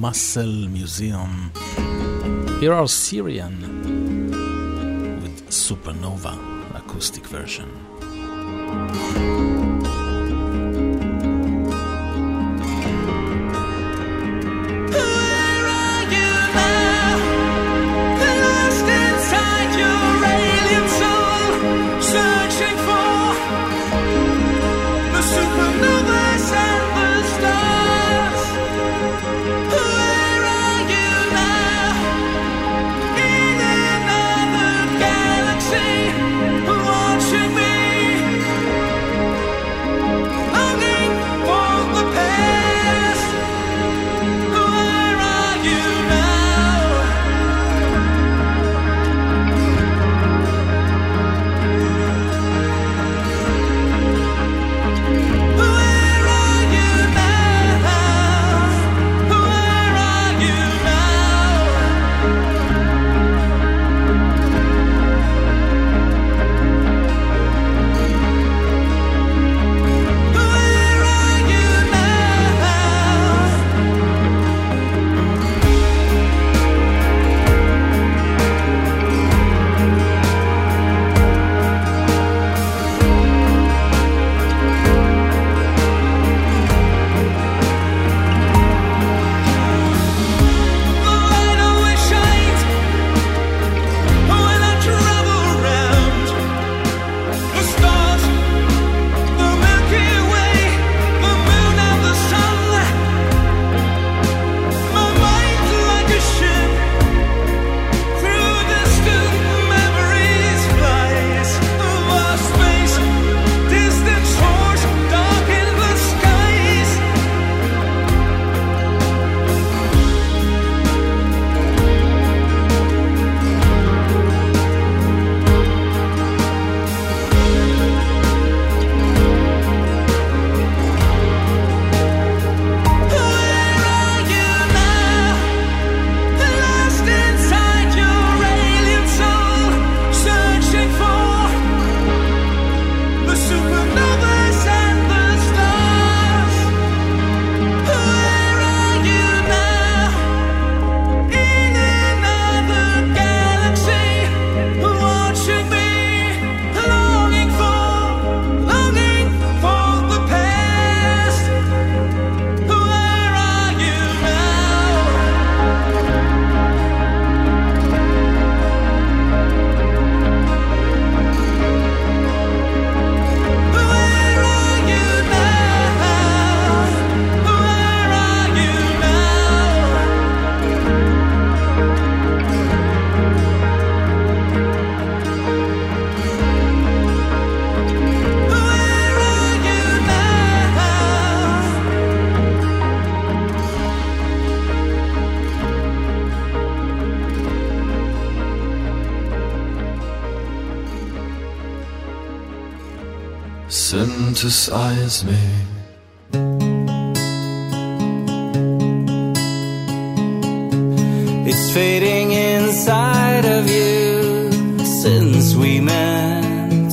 Muscle Museum. Here are Syrian with Supernova acoustic version. Synthesize me. It's fading inside of you since we met.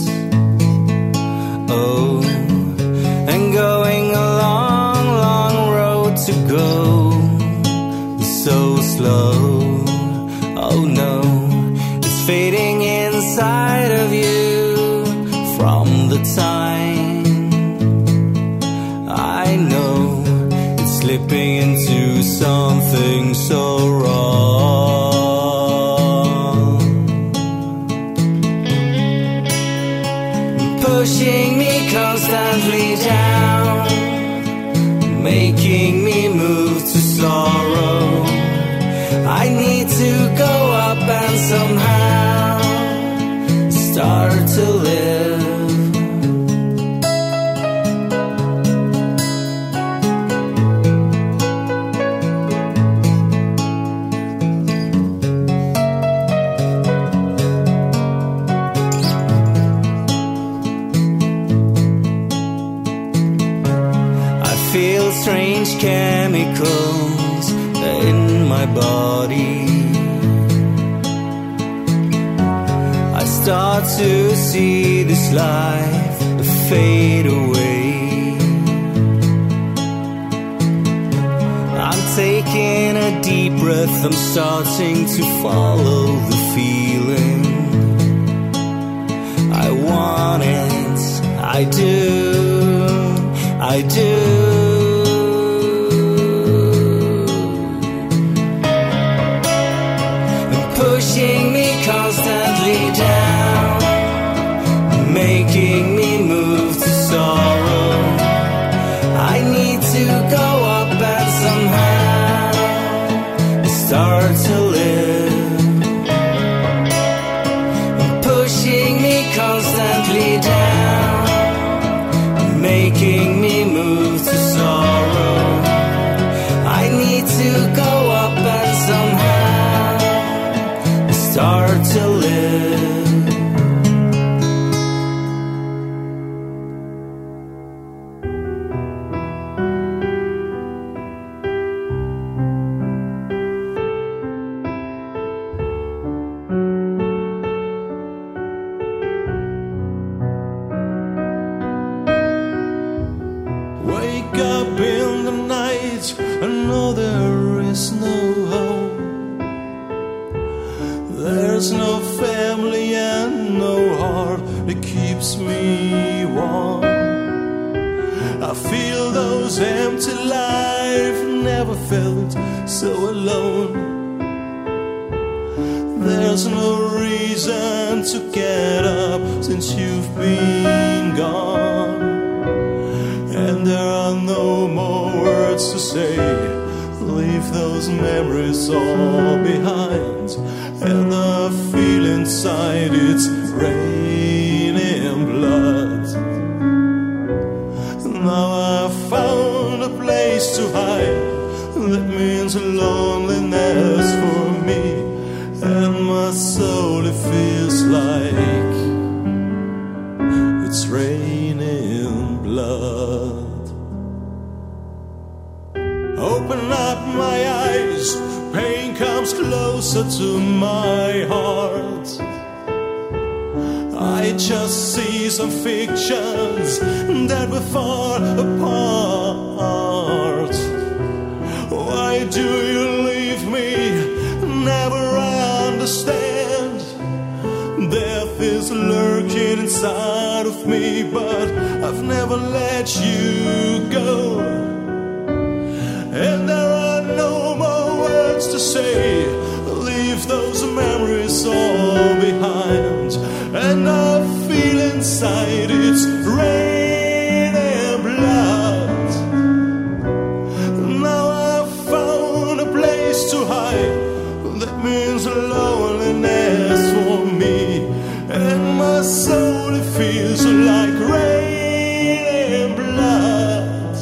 Oh, and going a long, long road to go. So slow. Oh no, it's fading inside of you from the time I know it's slipping into something so wrong, pushing me constantly down, making me move to sorrow. I need to go up and somehow start to live. Strange chemicals in my body. I start to see this life fade away. I'm taking a deep breath, I'm starting to follow the feeling. I want it, I do, I do. Pushing me constantly down, making me move to sorrow. I need to go up and somehow start to live. Pushing me constantly down, making me move to sorrow. I need to go up and somehow start to live. Wake up in the night, I know there is no home. There's no family and no heart that keeps me warm. I feel those empty lives, never felt so alone. There's no reason to get up since you've been gone. And there are no more words to say. Leave those memories all behind. And I feel inside it's raining blood. Now I've found a place to hide. That means loneliness for me. And my soul, it feels like it's raining blood. Open up my eyes, pain comes closer to my heart. I just see some fictions that were far apart. Why do you leave me? Never understand. Death is lurking inside of me, but I've never let you go. And there are no more words to say. Leave those memories all behind. And I feel inside it's rain and blood. Now I've found a place to hide. That means loneliness for me. And my soul, it feels like rain and blood.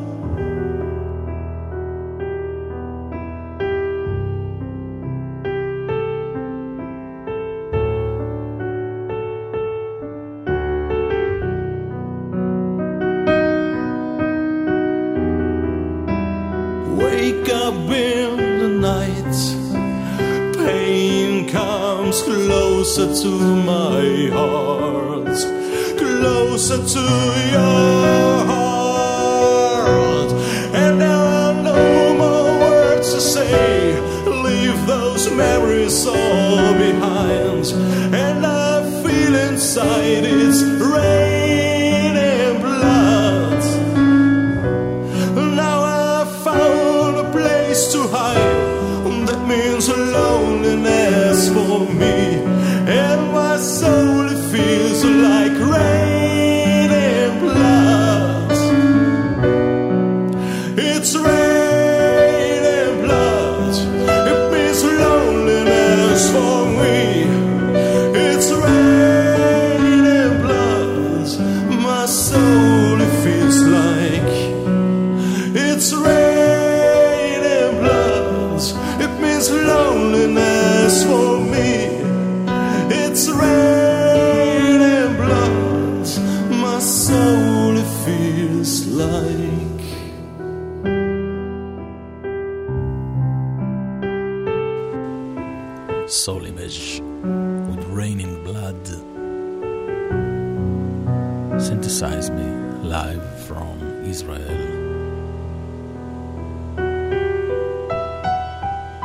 Wake up in the night, pain comes closer to my heart, closer to your heart. And there are no more words to say. Leave those memories all behind. And I feel inside it's rain and blood. Now I've found a place to hide. That means loneliness for me. And my soul, it feels like rain and blood. It's rain and blood. It means loneliness for me. It's rain and blood. My soul, it feels like it's rain and blood. It means loneliness for me. It's rain and blood. My soul, it feels like Soul Image with Raining Blood. Synthesize Me live from Israel.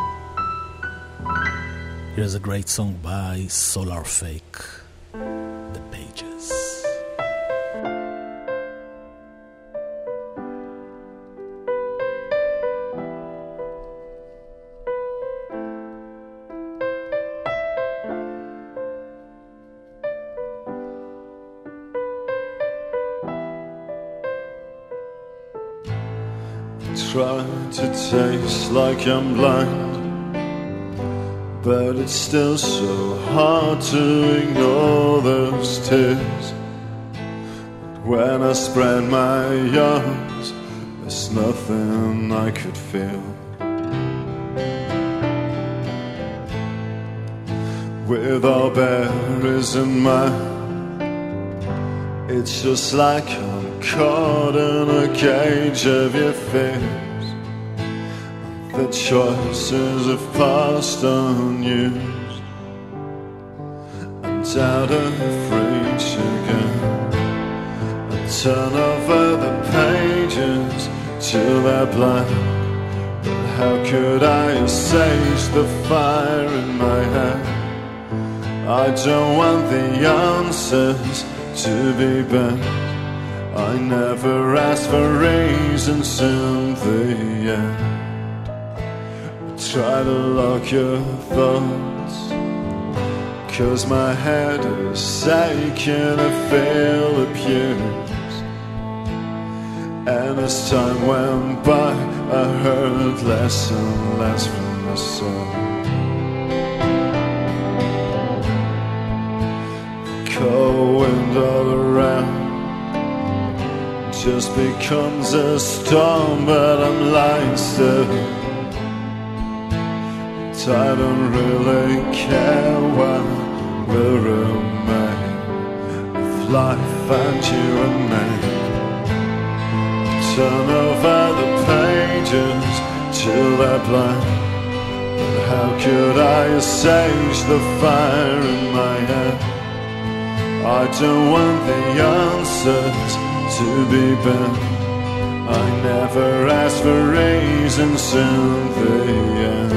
Here's a great song by Solar Fake, The Pages. Try to taste like I'm blind, but it's still so hard to ignore those tears. When I spread my arms, there's nothing I could feel. With all berries in mine, it's just like I'm caught in a cage of your fears. The choices have passed unused, and out of reach again. I turn over the pages till they're blank, but how could I assuage the fire in my head? I don't want the answers to be bent. I never asked for reasons in the end. Try to lock your thoughts, 'cause my head is aching, I feel abused. And as time went by, I heard less and less from myself. Cold wind all around just becomes a storm, but I'm lying still. I don't really care what will remain of life and you and me. Turn over the pages till they're blank, but how could I assuage the fire in my head? I don't want the answers to be bent. I never asked for reasons in the end.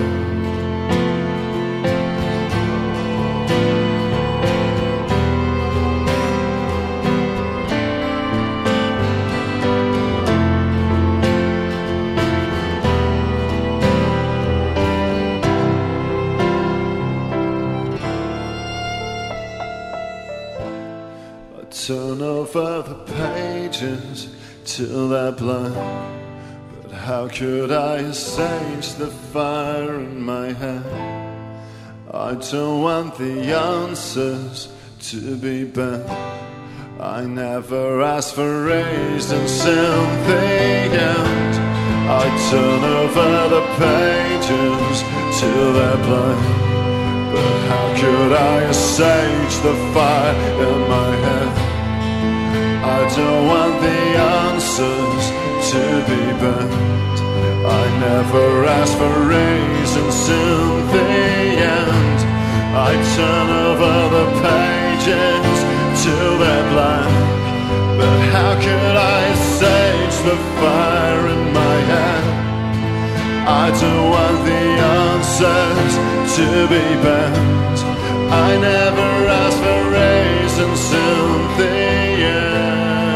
Turn over the pages till they're blank, but how could I assuage the fire in my head? I don't want the answers to be bent. I never asked for reasons in the end. I turn over the pages till they're blank, but how could I assuage the fire in my head? I don't want the answers to be bent. I never asked for reasons in the end. I turn over the pages till they're blank, but how could I assuage the fire in my head? I don't want the answers to be bent. I never asked for reasons in the end.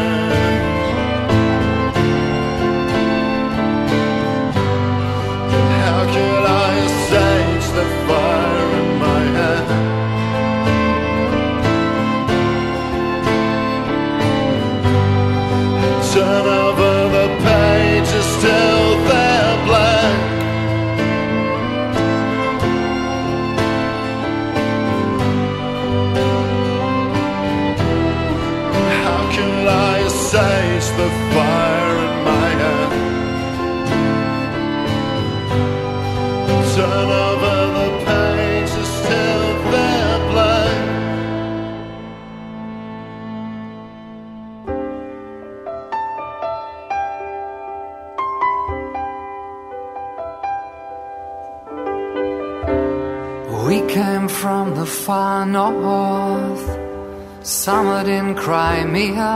How could I assuage the fire in my head? Turn over the pages till they're blank. Assuage the fire in my head. Turn over the pages till they're blank. We came from the far north, summered in Crimea,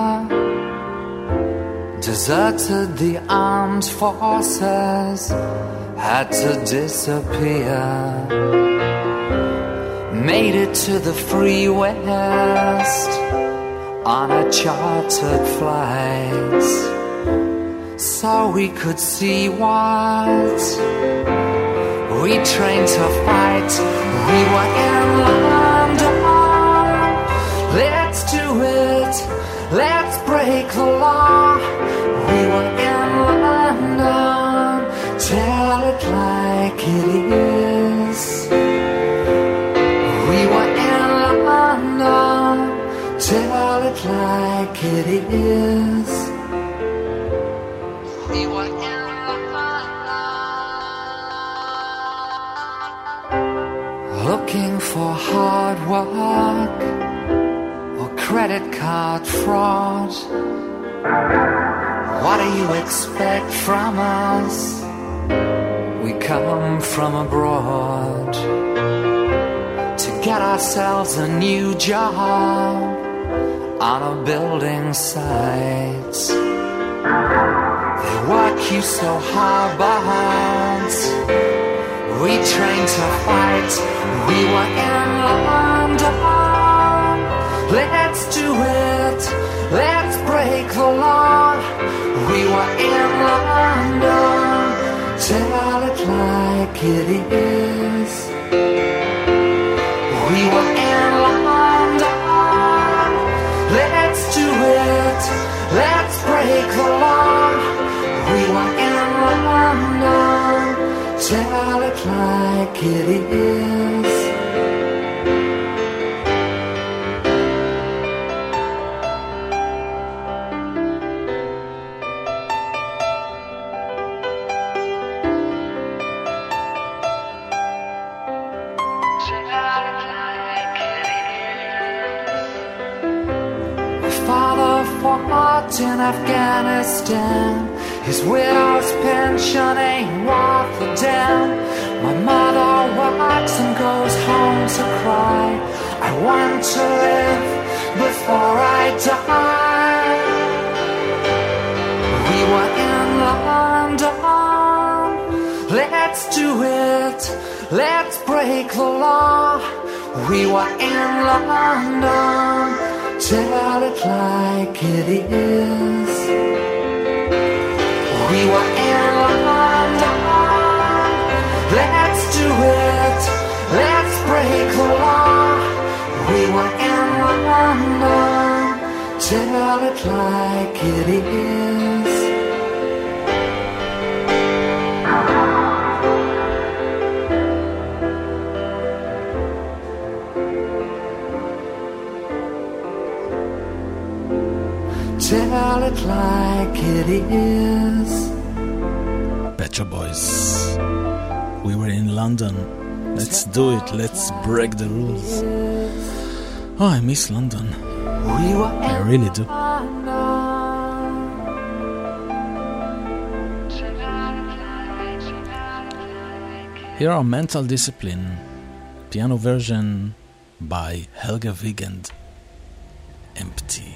deserted the armed forces, had to disappear. made it to the free west on a chartered flight, so we could see what we trained to fight. We were in London. Let's do it. Let's break the law. We were in London. Tell it like it is. We were in London. Tell it like it is. We were in London. Looking for hard work or credit card fraud. What do you expect from us? We come from abroad to get ourselves a new job on a building site. They work you so hard, but we trained to fight. We were in London. Let's do it. Let's break the law. We were in London. Tell it like it is. We were in London. Let's do it. Let's break the law. We were in London. Tell it like it is. In Afghanistan, his widow's pension ain't worth a damn. My mother works and goes home to cry. I want to live before I die. We were in London. Let's do it. Let's break the law. We were in London. Tell it like it is. We were in London. Let's do it. Let's break the law. We were in London. Tell it like it is. Tell it like it is. Pet Shop Boys. We were in London. Let's do it. Let's break the rules. Oh, I miss London. I really do. Here are Mental Discipline, piano version by Helga Wigand. Empty.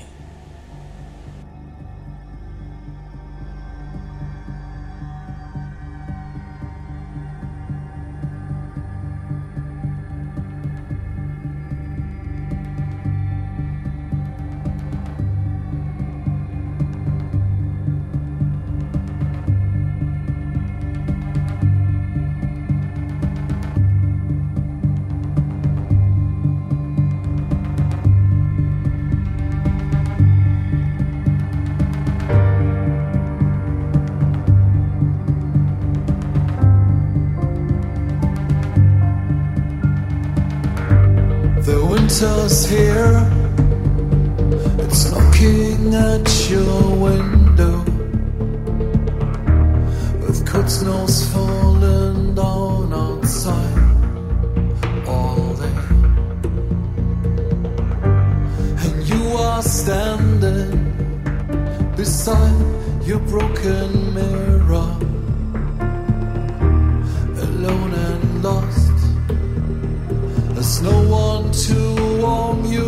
Winter's here, it's knocking at your window, with good snows falling down outside all day, and you are standing beside your broken mirror, alone and lost. There's no one to warm you.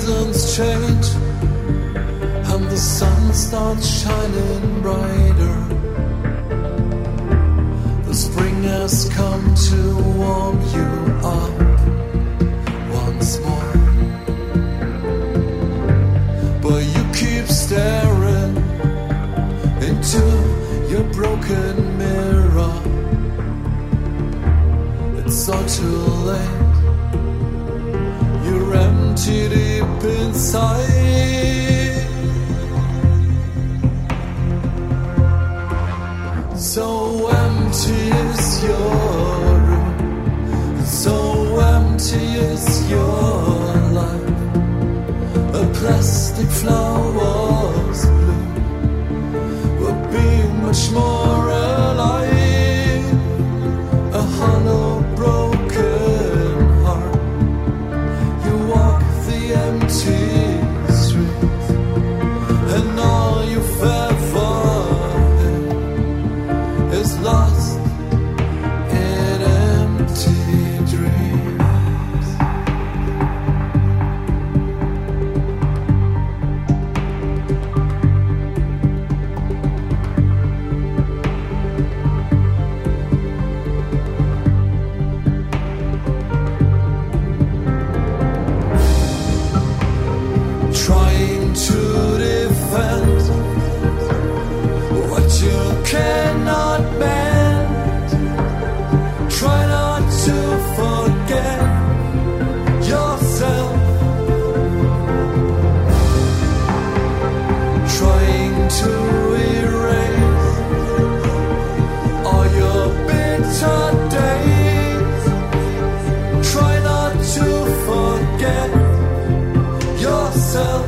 seasons change and the sun starts shining brighter. The spring has come to warm you up once more. But you keep staring into your broken mirror. It's all too late. You're empty deep inside. So empty is your room, so empty is your life. A plastic flower's bloom would be much more alive. A hollow broken heart. You walk the empty streets, and all you've ever had is lost in empty dreams. Trying to defend what you cannot bend. Try not to forget yourself. Trying to erase all your bitter days. Try not to forget yourself.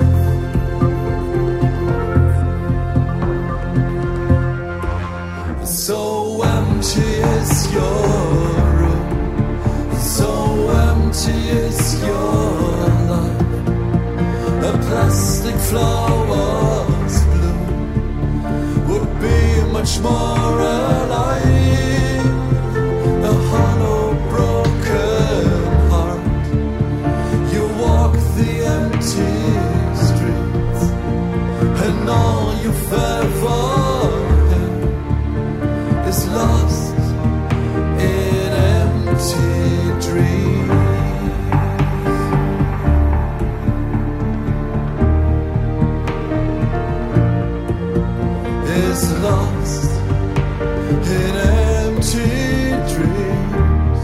So empty is your room, so empty is your life. A plastic flower's bloom would be much more alive. A hollow broken heart. You walk the empty streets, and all you've ever had is lost in empty dreams. Is lost in empty dreams.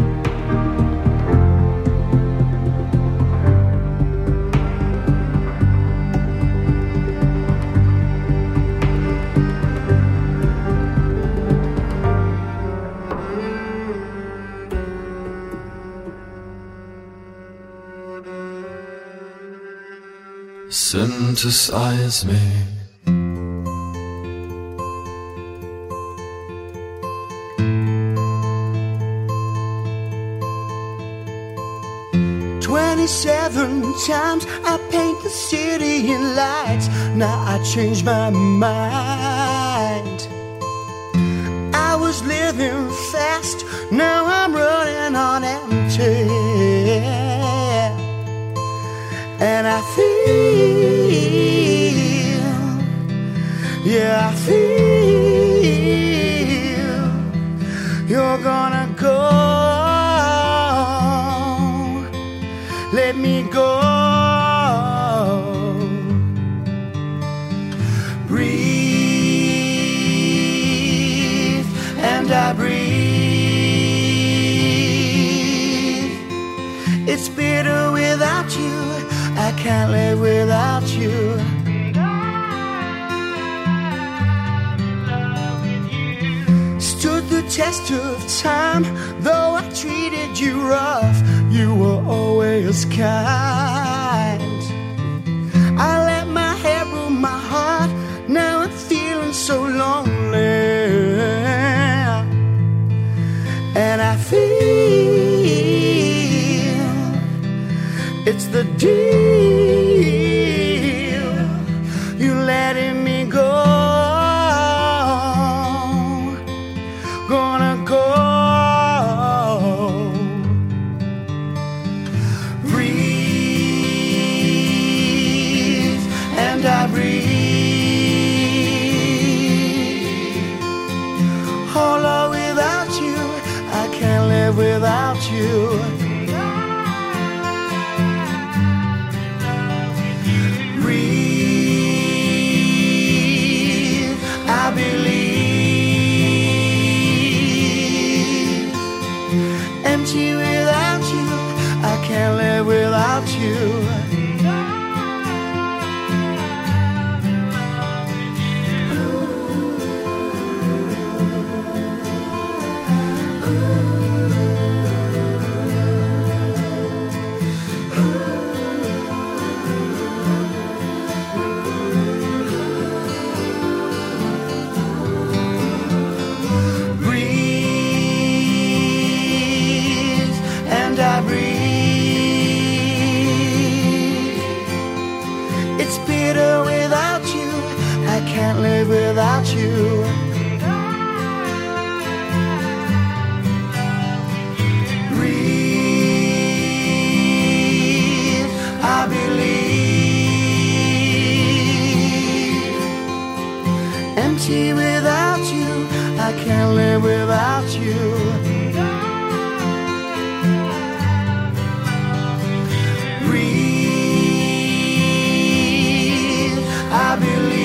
Synthesize me. Times I paint the city in lights. Now I changed my mind. I was living fast, now I'm running on empty. And I feel, yeah, I feel you're gonna go. Let me go. Breathe, and I breathe. It's bitter without you. I can't live without you. Stood the test of time, though I treated you rough. You were always kind. I let my hair rule my heart. Now I'm feeling so lonely. And I feel it's the deal. You letting me go. Gonna go. Breathe. you. Breathe, I believe. Empty without you, I can't live without you. Without you, breathe, I believe. Empty without you, I can't live without you. Breathe, I believe.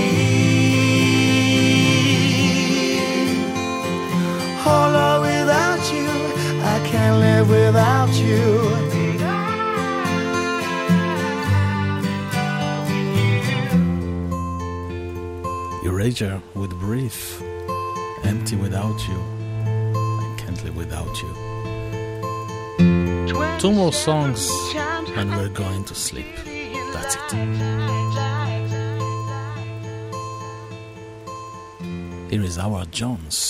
Hollow without you, I can't live without you. Erasure with Brief, Empty without you, I can't live without you. 2 more songs and we're going to sleep. That's it. Here is Howard Jones.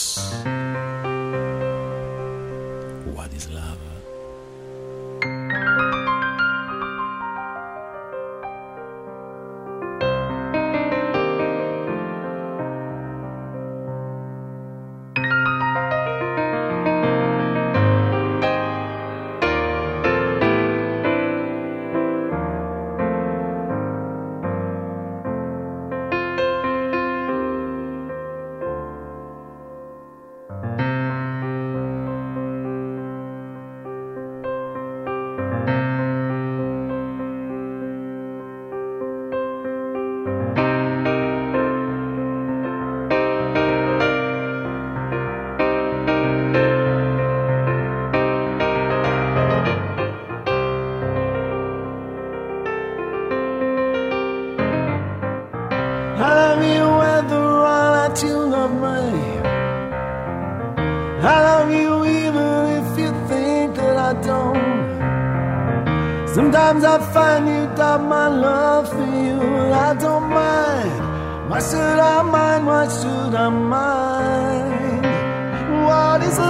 What is love? Sometimes I find you doubt my love for you, and I don't mind. Why should I mind? Why should I mind? What is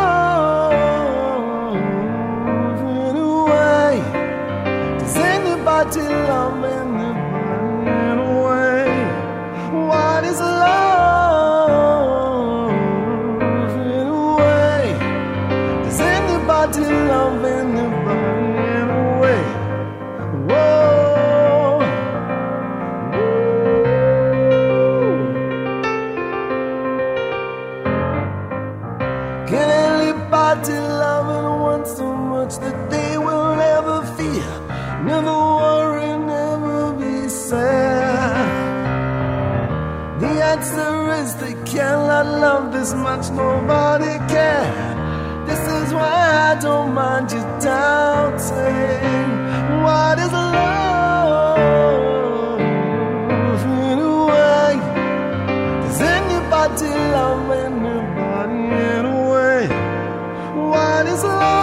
love anyway? Does anybody love anybody anyway? What is love anyway? Does anybody love anybody? That they will never fear, never worry, never be sad. The answer is they cannot love this much, nobody can. This is why I don't mind you doubting. What is love anyway? Does anybody love anybody anyway? What is love?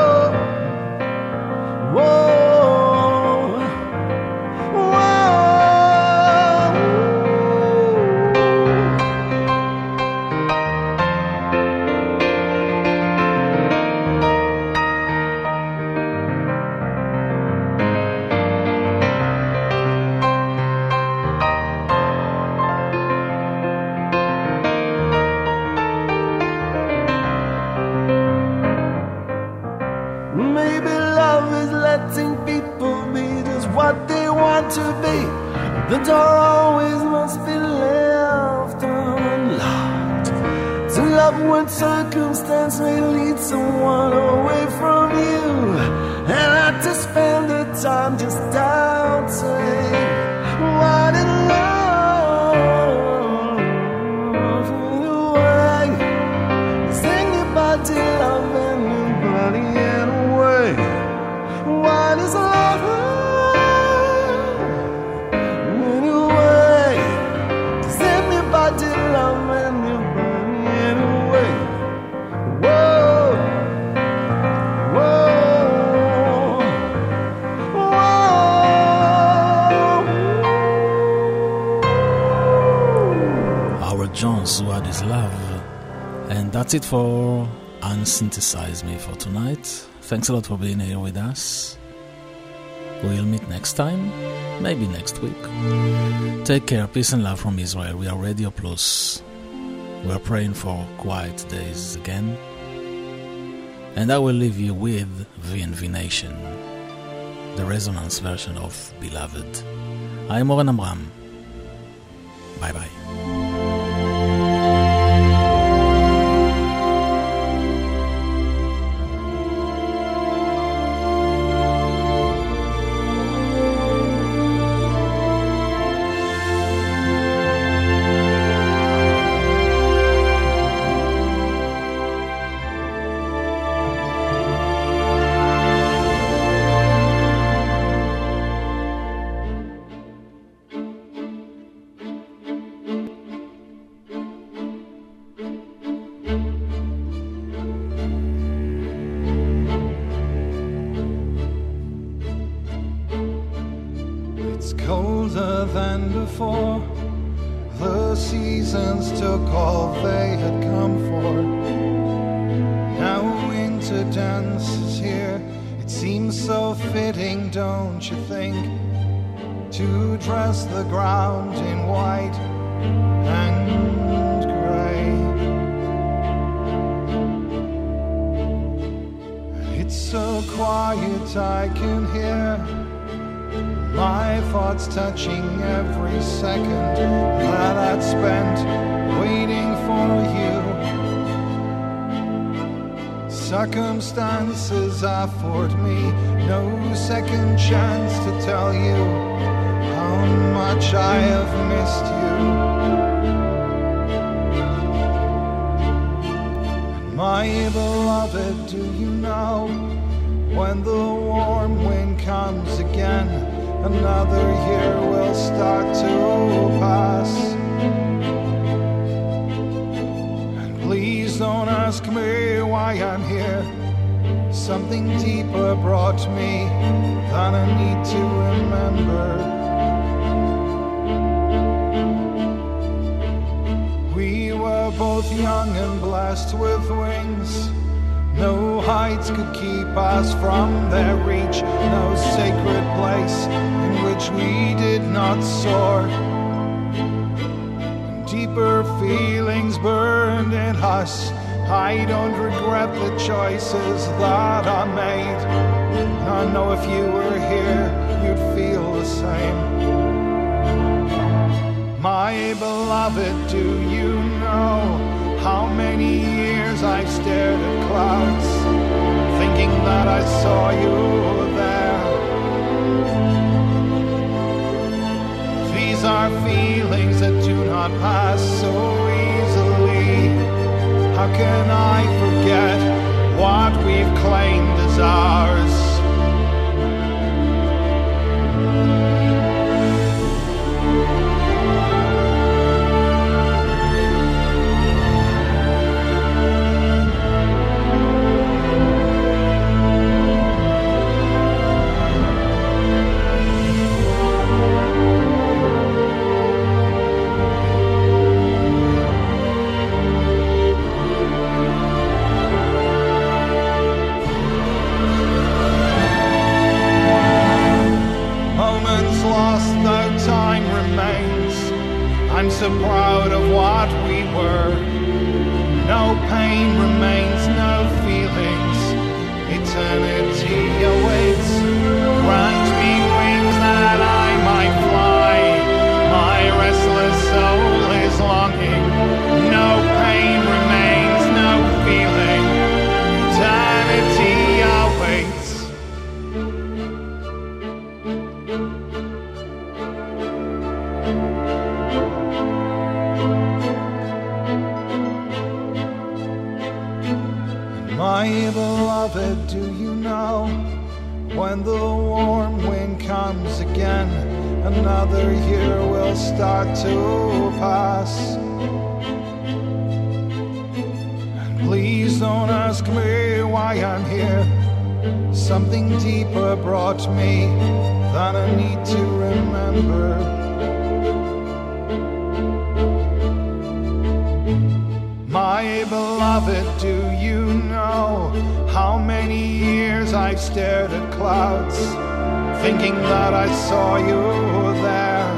Whoa, whoa, whoa. The door always must be left unlocked. To love when circumstance may lead someone away from you, and not to spend the time just doubting what in love away. Is anybody loving anybody anyway? What is love anyway? Does anybody love anybody anyway? Whoa, whoa, whoa. Howard Jones, What is Love? And that's it for Unsynthesize Me for tonight. Thanks a lot for being here with us. We'll meet next time, maybe next week. Take care, peace and love from Israel. We are Radio Plus. We are praying for quiet days again. And I will leave you with VNV Nation, the resonance version of Beloved. I'm Oren Amram. Bye bye. The seasons took all they had come for. Now winter dances here. It seems so fitting, don't you think, to dress the ground in white and grey. It's so quiet I can hear my thoughts touching every second that I'd spent waiting for you. Circumstances afford me no second chance to tell you how much I have missed you. My beloved, do you know, when the warm wind comes again, another year will start to pass. And please don't ask me why I'm here. Something deeper brought me than I need to remember. We were both young and blessed with wings. No heights could keep us from their reach, no sacred place in which we did not soar. Deeper feelings burned in us. I don't regret the choices that I made. I know if you were here, you'd feel the same. My beloved, do you know how many years I've stared at clouds, thinking that I saw you there? These are feelings that do not pass so easily. How can I forget what we've claimed as ours? I'm so proud of what we were. No pain remains, no feelings. Eternity awaits. Grant me wings that I might fly My beloved, do you know, when the warm wind comes again, another year will start to pass. And please don't ask me why I'm here. Something deeper brought me than I need to remember. My beloved, do you know how many years I've stared at clouds, thinking that I saw you there?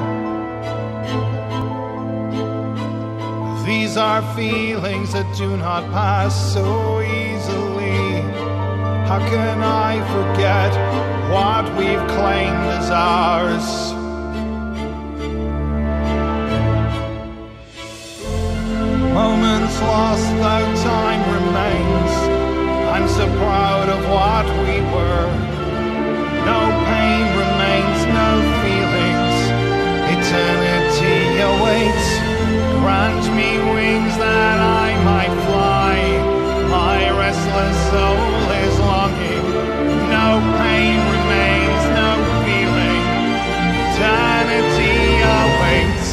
These are feelings that do not pass so easily. How can I forget what we've claimed as ours? Moments lost though time remains. I'm so proud of what we were. No pain remains, no feelings. Eternity awaits. Grant me wings that I might fly. My restless soul is longing. No pain remains, no feeling. Eternity awaits.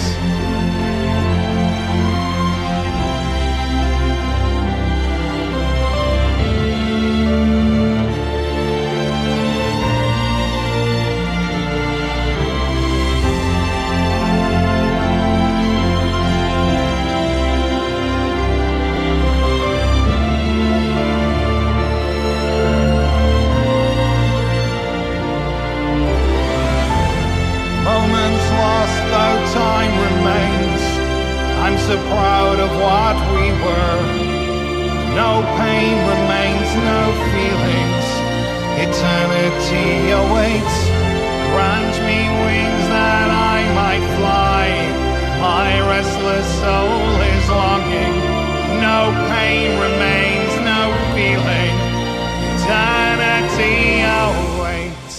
Time remains. I'm so proud of what we were. No pain remains, no feelings. Eternity awaits. Grant me wings that I might fly. My restless soul is longing. No pain remains, no feeling. Eternity awaits.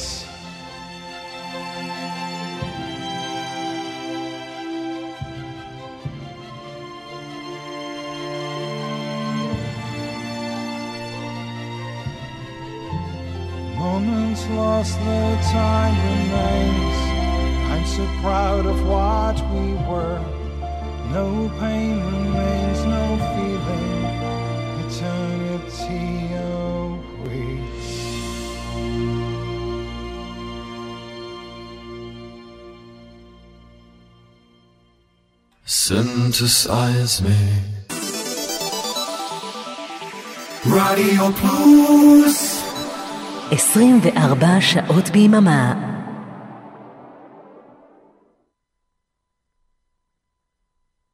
Moments lost, the time remains. I'm so proud of what we were. No pain remains, no feeling. Eternity awaits. Synthesize me. Radio Plus 24 שעות ביממה.